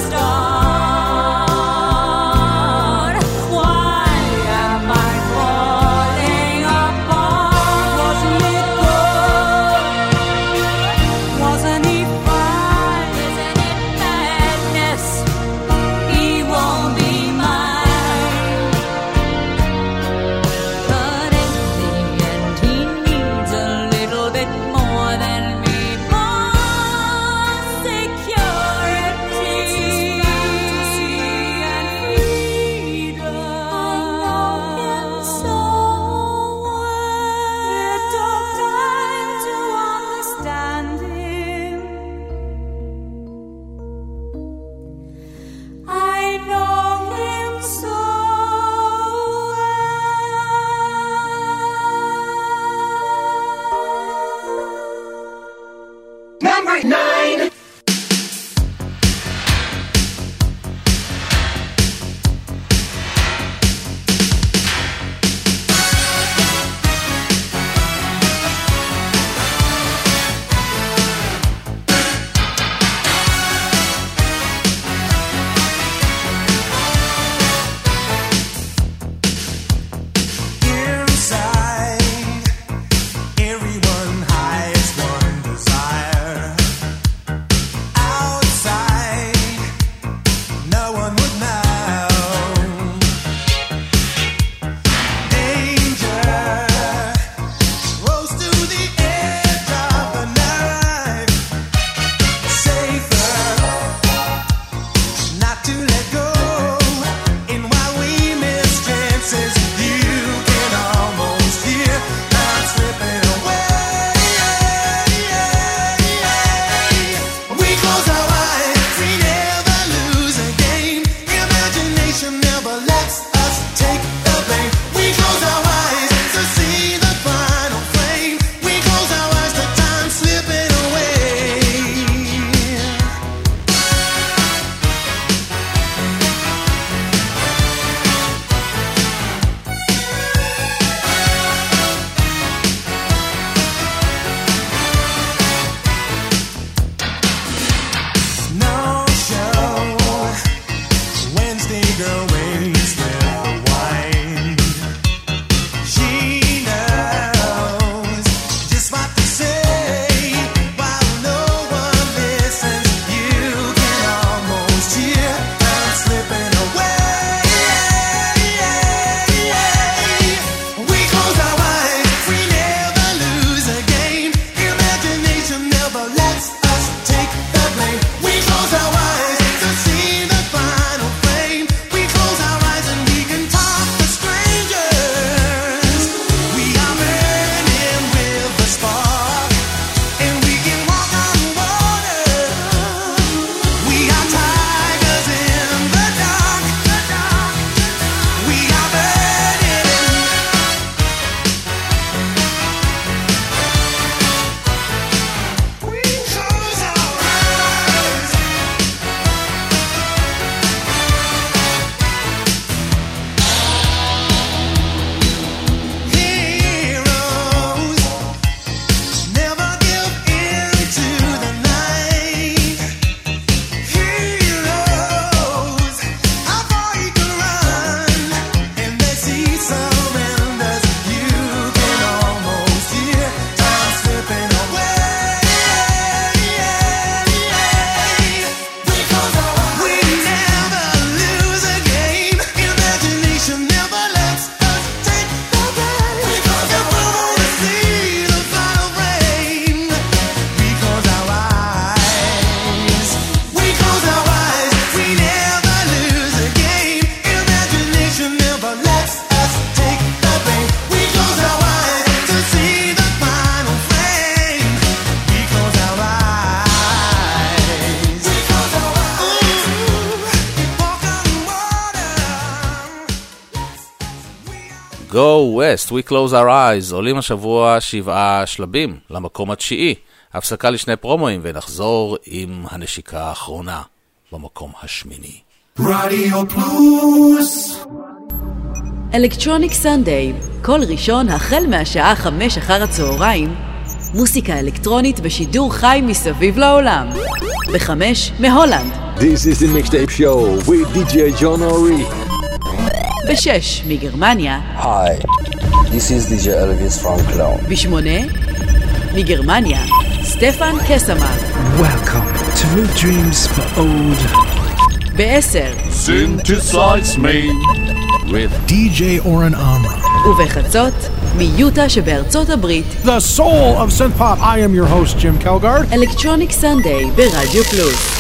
C: Go West, We Close Our Eyes, עולים השבוע שבעה שלבים למקום התשיעי. הפסקה לשני פרומואים ונחזור עם הנשיקה האחרונה במקום השמיני.
P: רדיו פלוס
B: אלקטרוניק סנדיי, כל ראשון החל מהשעה חמש אחר הצהריים, מוסיקה אלקטרונית בשידור חי מסביב לעולם. בחמש מהולנד.
Q: This is the mixtape show with די ג'יי John Ori.
B: בשש מגרמניה.
R: Hi, this is די ג'יי Elvis from Cologne.
B: בשמונה מגרמניה, סטפן קסמן.
S: Welcome to New Dreams for Old.
B: בעשר
T: Synthesize me
S: with די ג'יי Oren Amram.
B: ובחצות מיוטה שבארצות הברית.
U: The soul of synth pop. I am your host Jim Kelgard.
B: אלקטרוניק סנדיי ברדיו פלוס.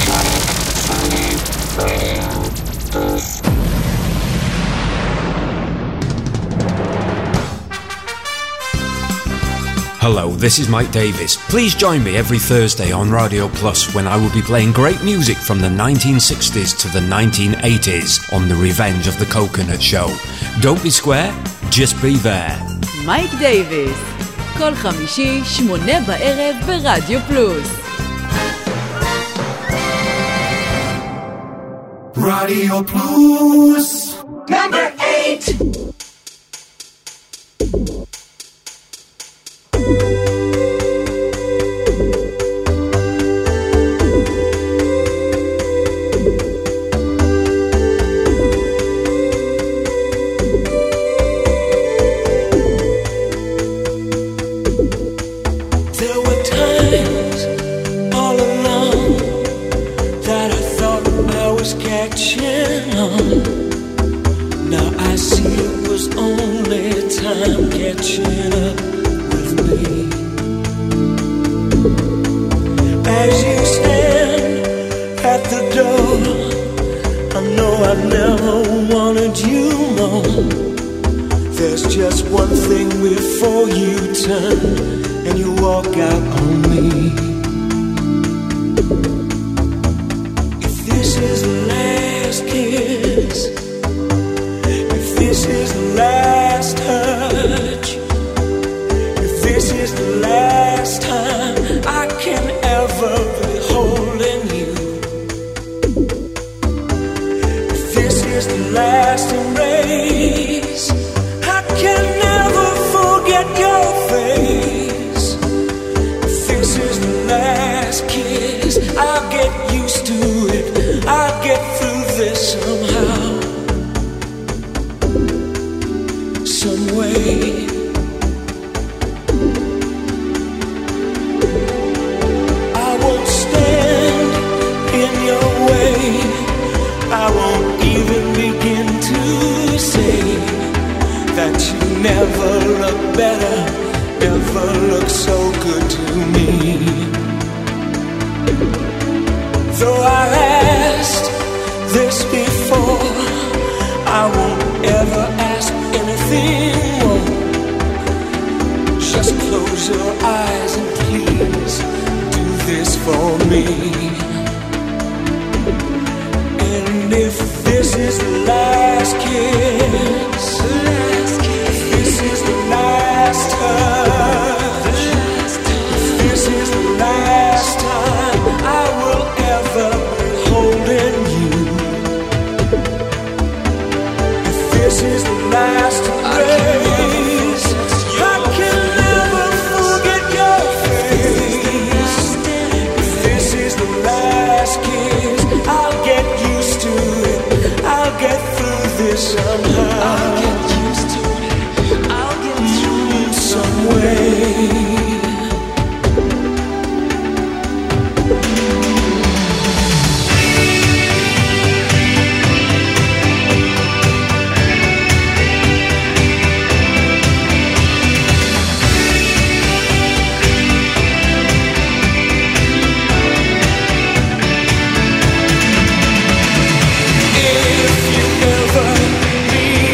V: Hello, this is Mike Davis. Please join me every Thursday on Radio Plus when I will be playing great music from the nineteen sixties to the nineteen eighties on the Revenge of the Coconut Show. Don't be square, just be there.
B: מייק דייביס, כל חמישי, שמונה בערב ברדיו פלוס.
P: רדיו פלוס Number eight. If you ever need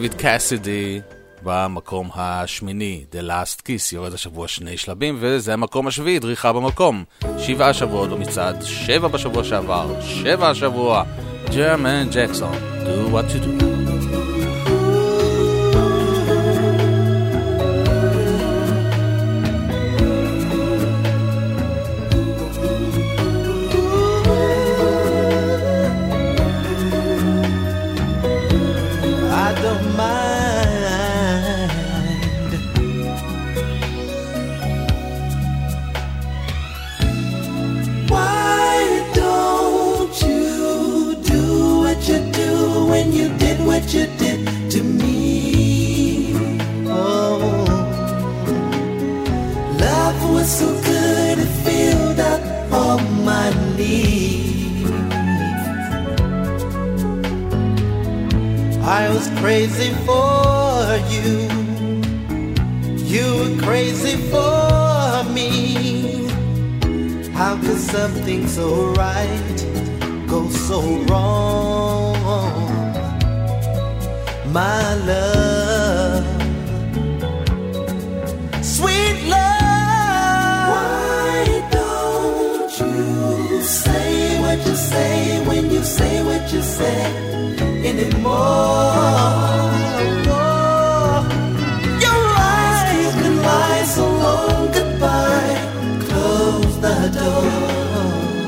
C: דיוויד קאסידי במקום השמיני, The Last Kiss, יורד השבוע שני שלבים, וזה המקום השביעי, דריכה במקום. שבעה שבועות במצעד, שבע בשבוע שעבר, שבע השבוע, ג'רמן ג'קסון, Do What You Do.
D: What you did to me. Oh, love was so good it filled up all my needs. I was crazy for you, you were crazy for me. How could something so right go so wrong? My love, sweet love. Why don't you say what you say when you say what you say anymore? Your eyes can lie so long goodbye. Close the door.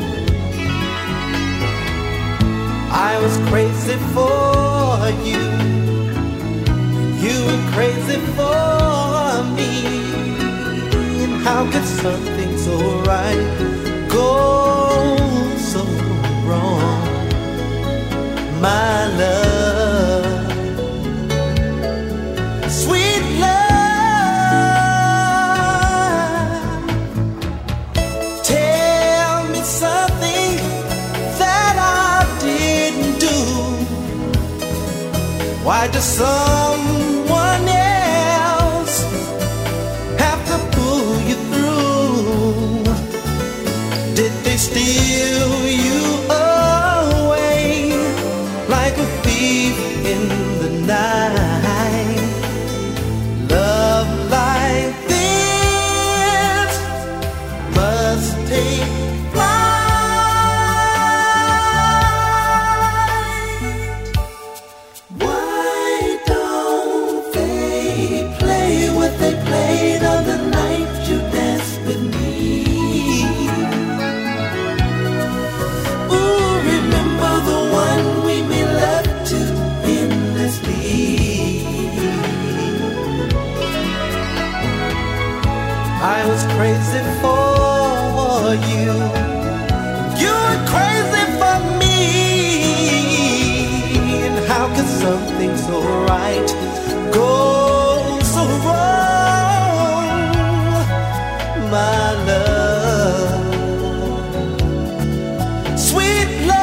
D: I was crazy for you. You were crazy for me. And how could something so right go so wrong? My love, sweet love. Tell me something that I didn't do. Why does some steal you away like a thief in the night? Love like this must take flight. Why don't they play what they played on the night you danced with me? I was crazy for you. You were crazy for me. And how could something so right go so wrong? My love, sweet love.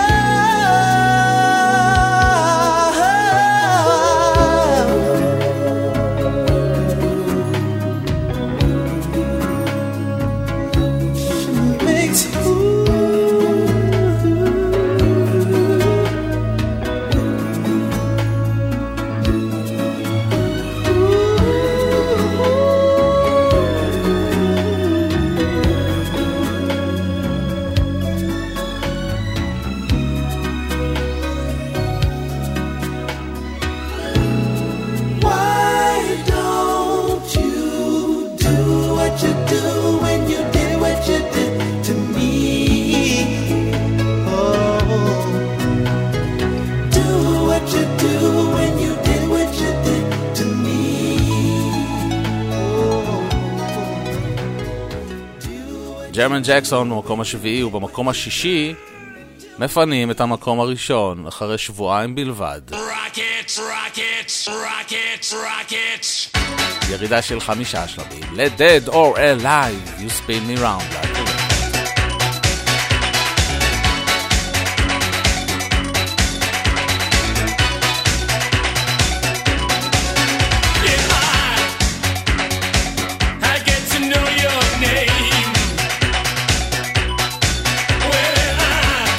C: ג'רמן ג'קסון במקום השביעי, ובמקום השישי מפנים את המקום הראשון אחרי שבועיים בלבד.
E: Rockets, rockets, rockets, rockets.
C: ירידה של חמישה שלבים. Let dead or alive, you spin me round.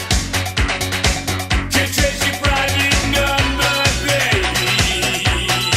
E: Trace your private number, baby.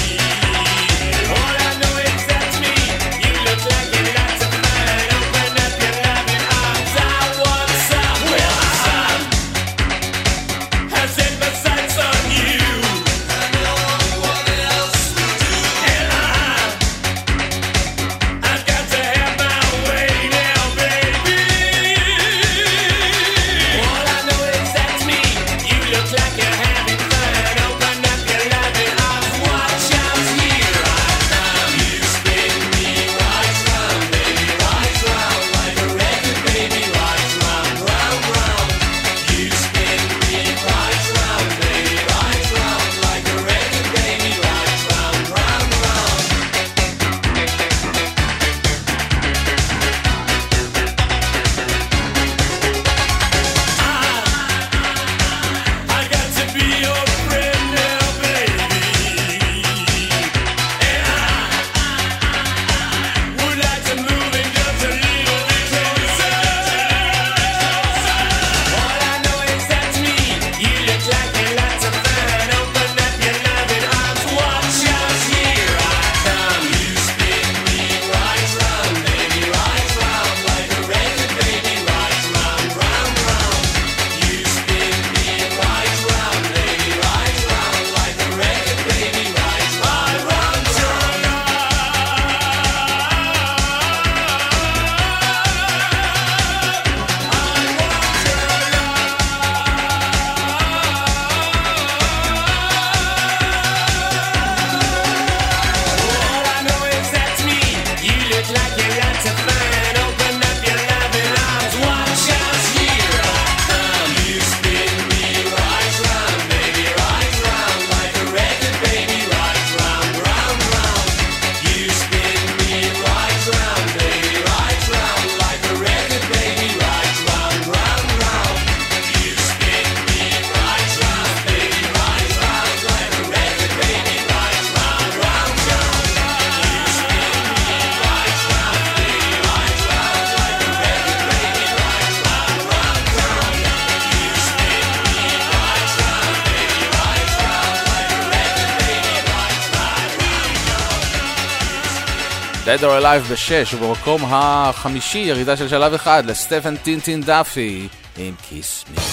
C: Dead or Alive בשש, ובמקום החמישי ירידה של שלב אחד לסטפן טינטין דאפי עם Kiss Me.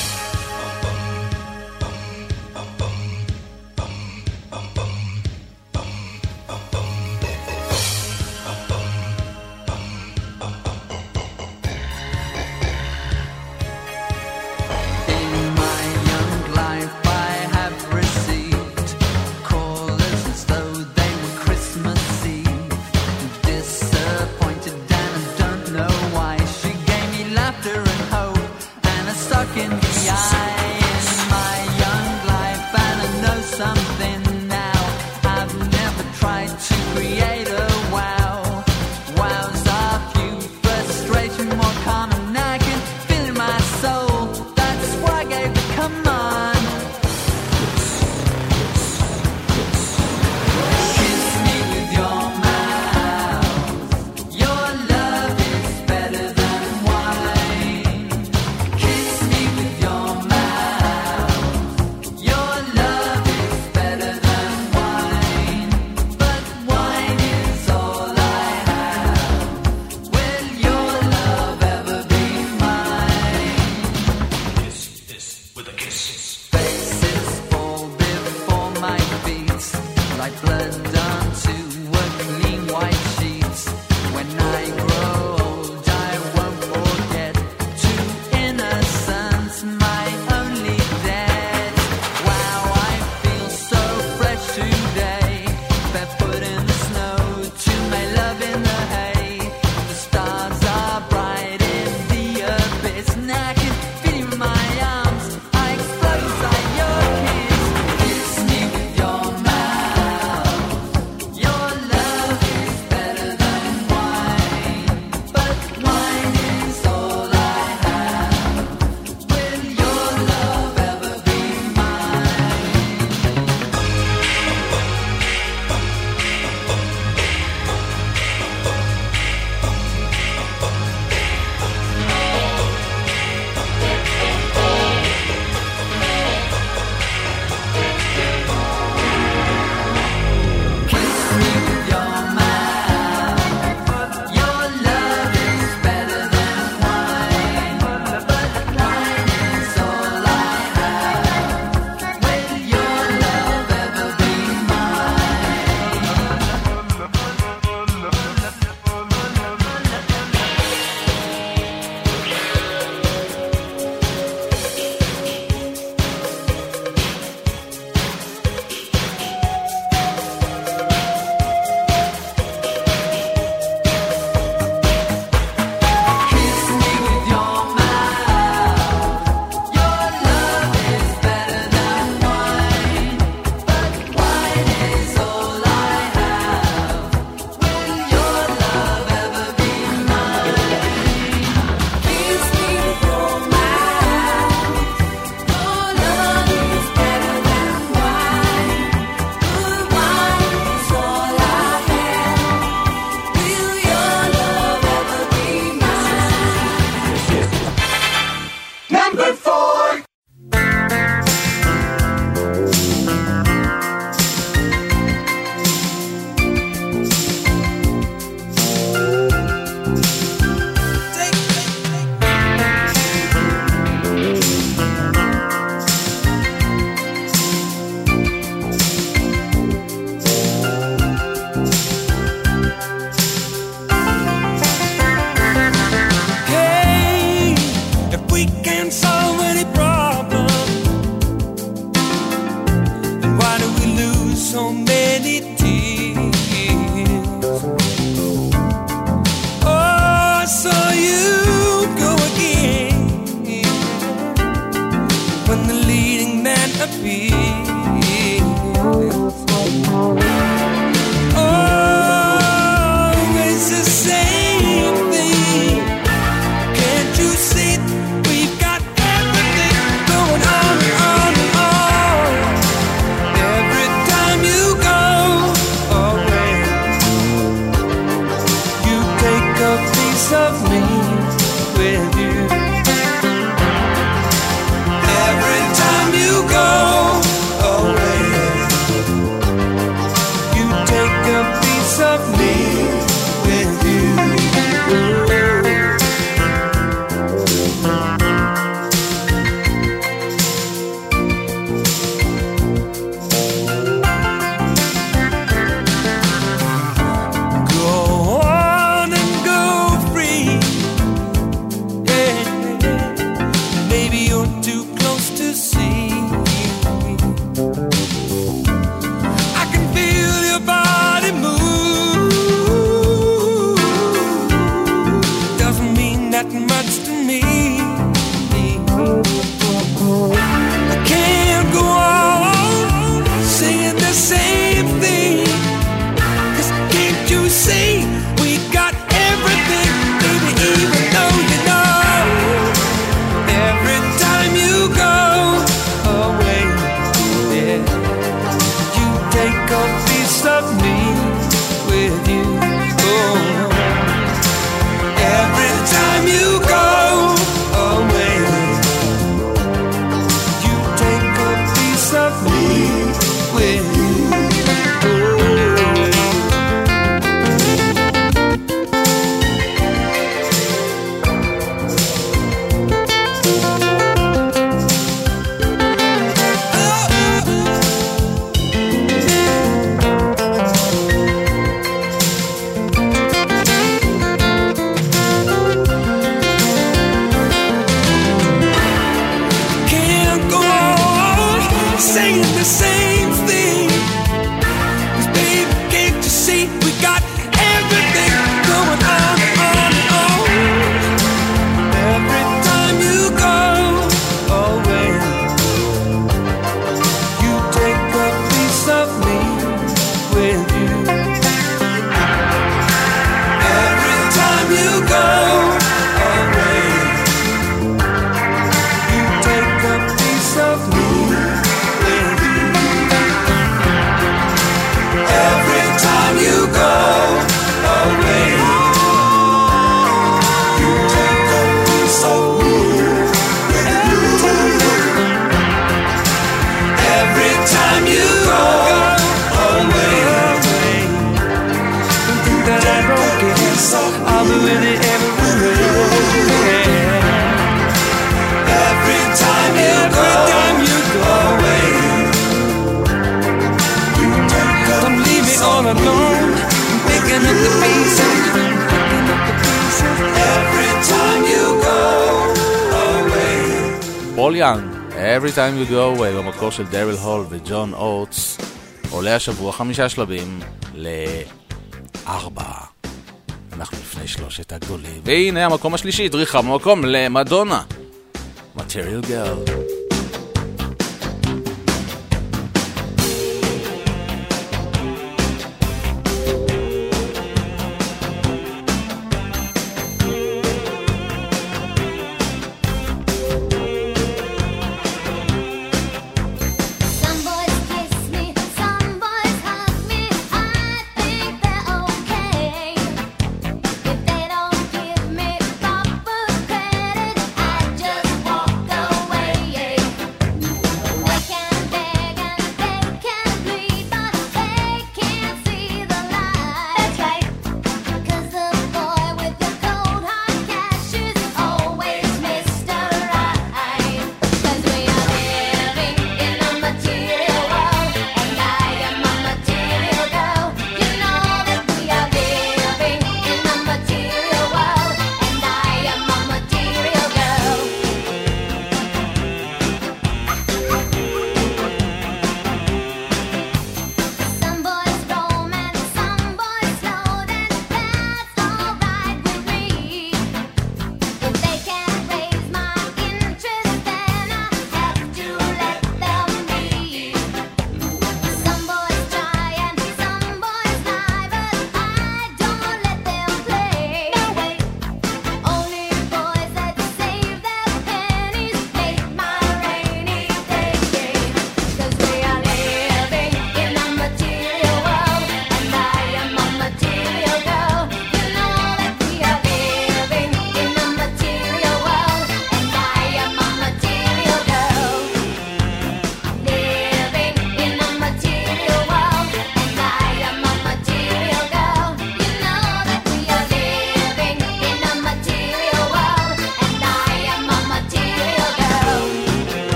O: We've got the same thing. 'Cause baby, can't you see we got everything going on, on, on. Every time you go away, you take a piece of me with you. Every time you go away, you take a piece of me with you. Every time you go away, you take a piece of me with you. Every time you go away, don't think that I don't care. I'll be with you everywhere. Every time you go away, you take a don't leave me all alone. I'm picking up the pieces, picking up the pieces. Every time you go away.
C: פול יאנג, Every Time You Go Away, במקור של דריל הול וג'ון אוטס, עולה השבוע חמישה שלבים לארבע. אנחנו לפני שלושת הגדולים. והנה המקום השלישי, דריכה במקום למדונה. Material Girl.
G: Away, yeah.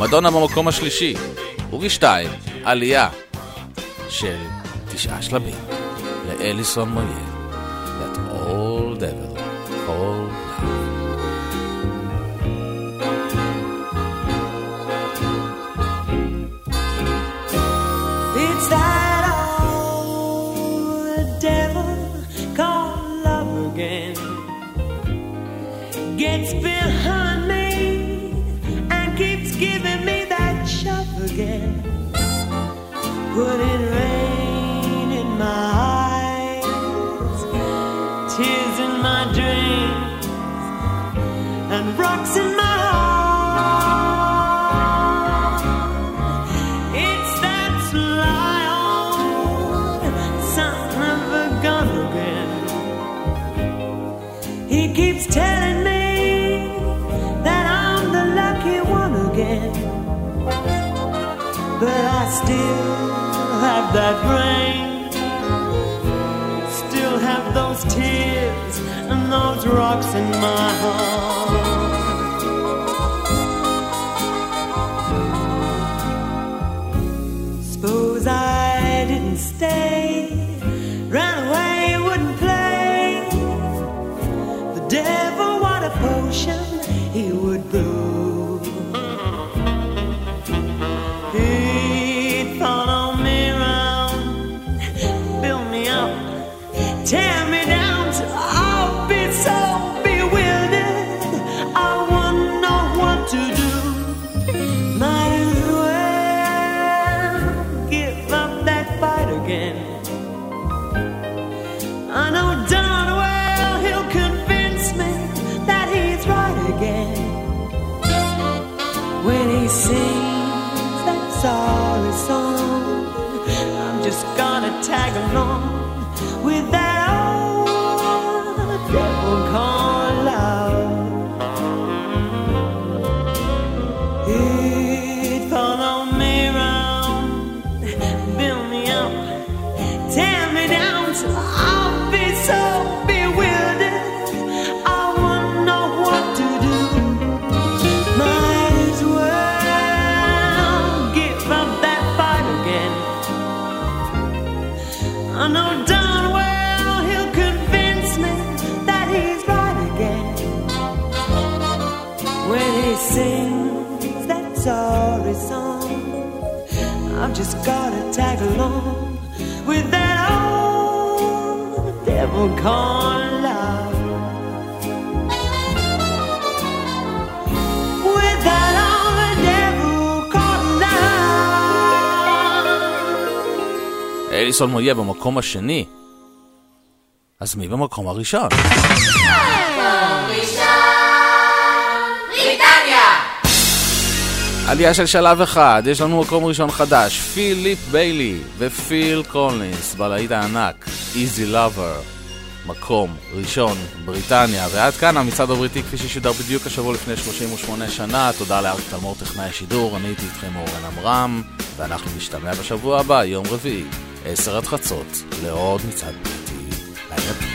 C: מדונה במקום השלישי, ובשתיים, עלייה של תשעה שלבים לאליסון מויה, That Old Devil Called Love.
F: It's that old devil called love again. Gets behind me and keeps giving me that shove again. Putting rain in my eyes, tears in my dreams, and rocks in my heart. It's that sly old son of a gun again. He keeps telling me that I'm the lucky one again, but I still have that rain, still have those tears and those rocks in my heart. Suppose I didn't stay, ran away, wouldn't play. The devil, what a potion he would brew. He'd follow me around, build me up, tear me down till I'll be so bewildered I wouldn't know what to do. Might as well give up that fight again. I know darn well he'll convince me that he's right again when he sings that sorry song. I'm just gonna tag along with that old devil called love. He'd follow me around, build me up, tear me down till I'll be so bewildered I wouldn't know what to do. Might as well give up that fight again. I know darn well he'll convince me that he's right again when he sings that sorry song. I've just gotta tag along with that old devil called love. With that old devil called love.
C: אליסון מויה במקום השני. אז מי במקום הראשון? עלייה של שלב אחד, יש לנו מקום ראשון חדש, פיליפ ביילי ופיל קולינס, בלהיט הענק, Easy Lover, מקום ראשון בריטניה. ועד כאן המצעד הבריטי כפי ששודר בדיוק השבוע לפני שלושים ושמונה שנה. תודה לאריק תלמור טכנאי השידור, אני הייתי איתכם אורן אמרם, ואנחנו נשתמע בשבוע הבא, יום רביעי, עשר עד חצות, לעוד מצעד בריטי. לילה טוב.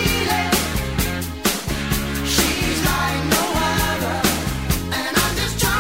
O: She's like no other, and I'm just trying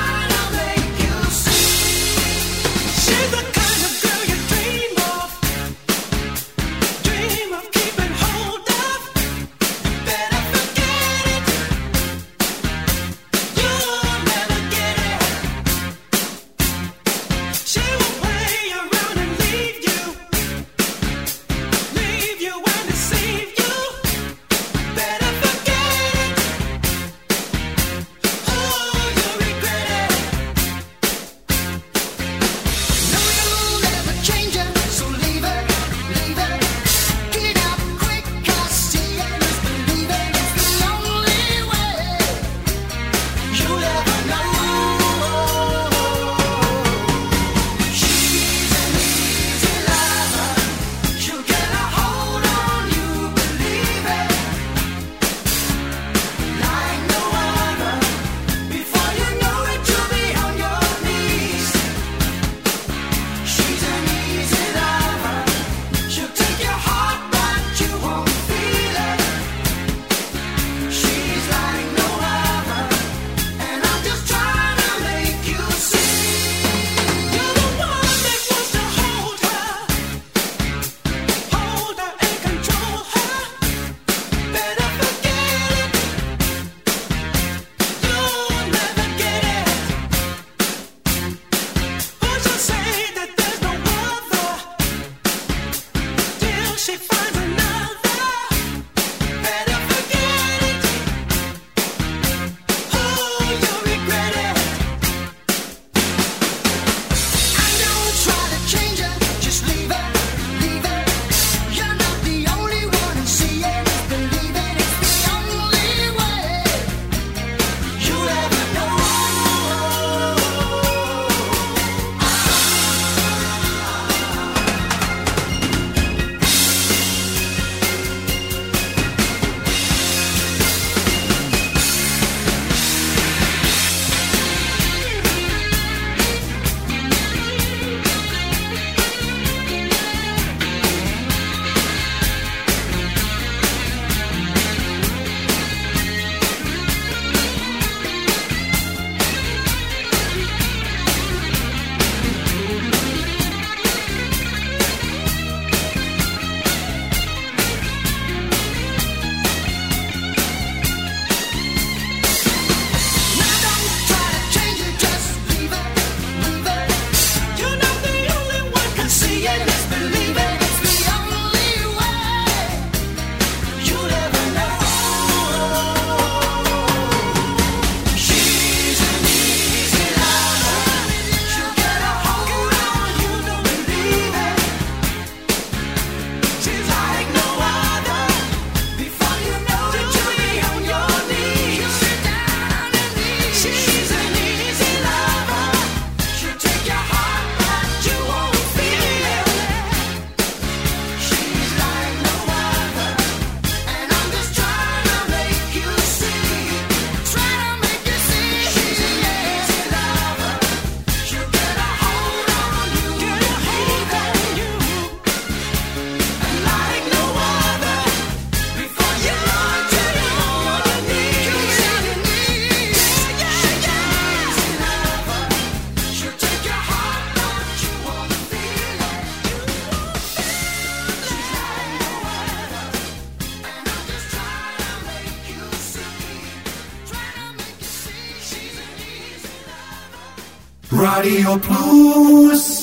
G: רדיו פלוס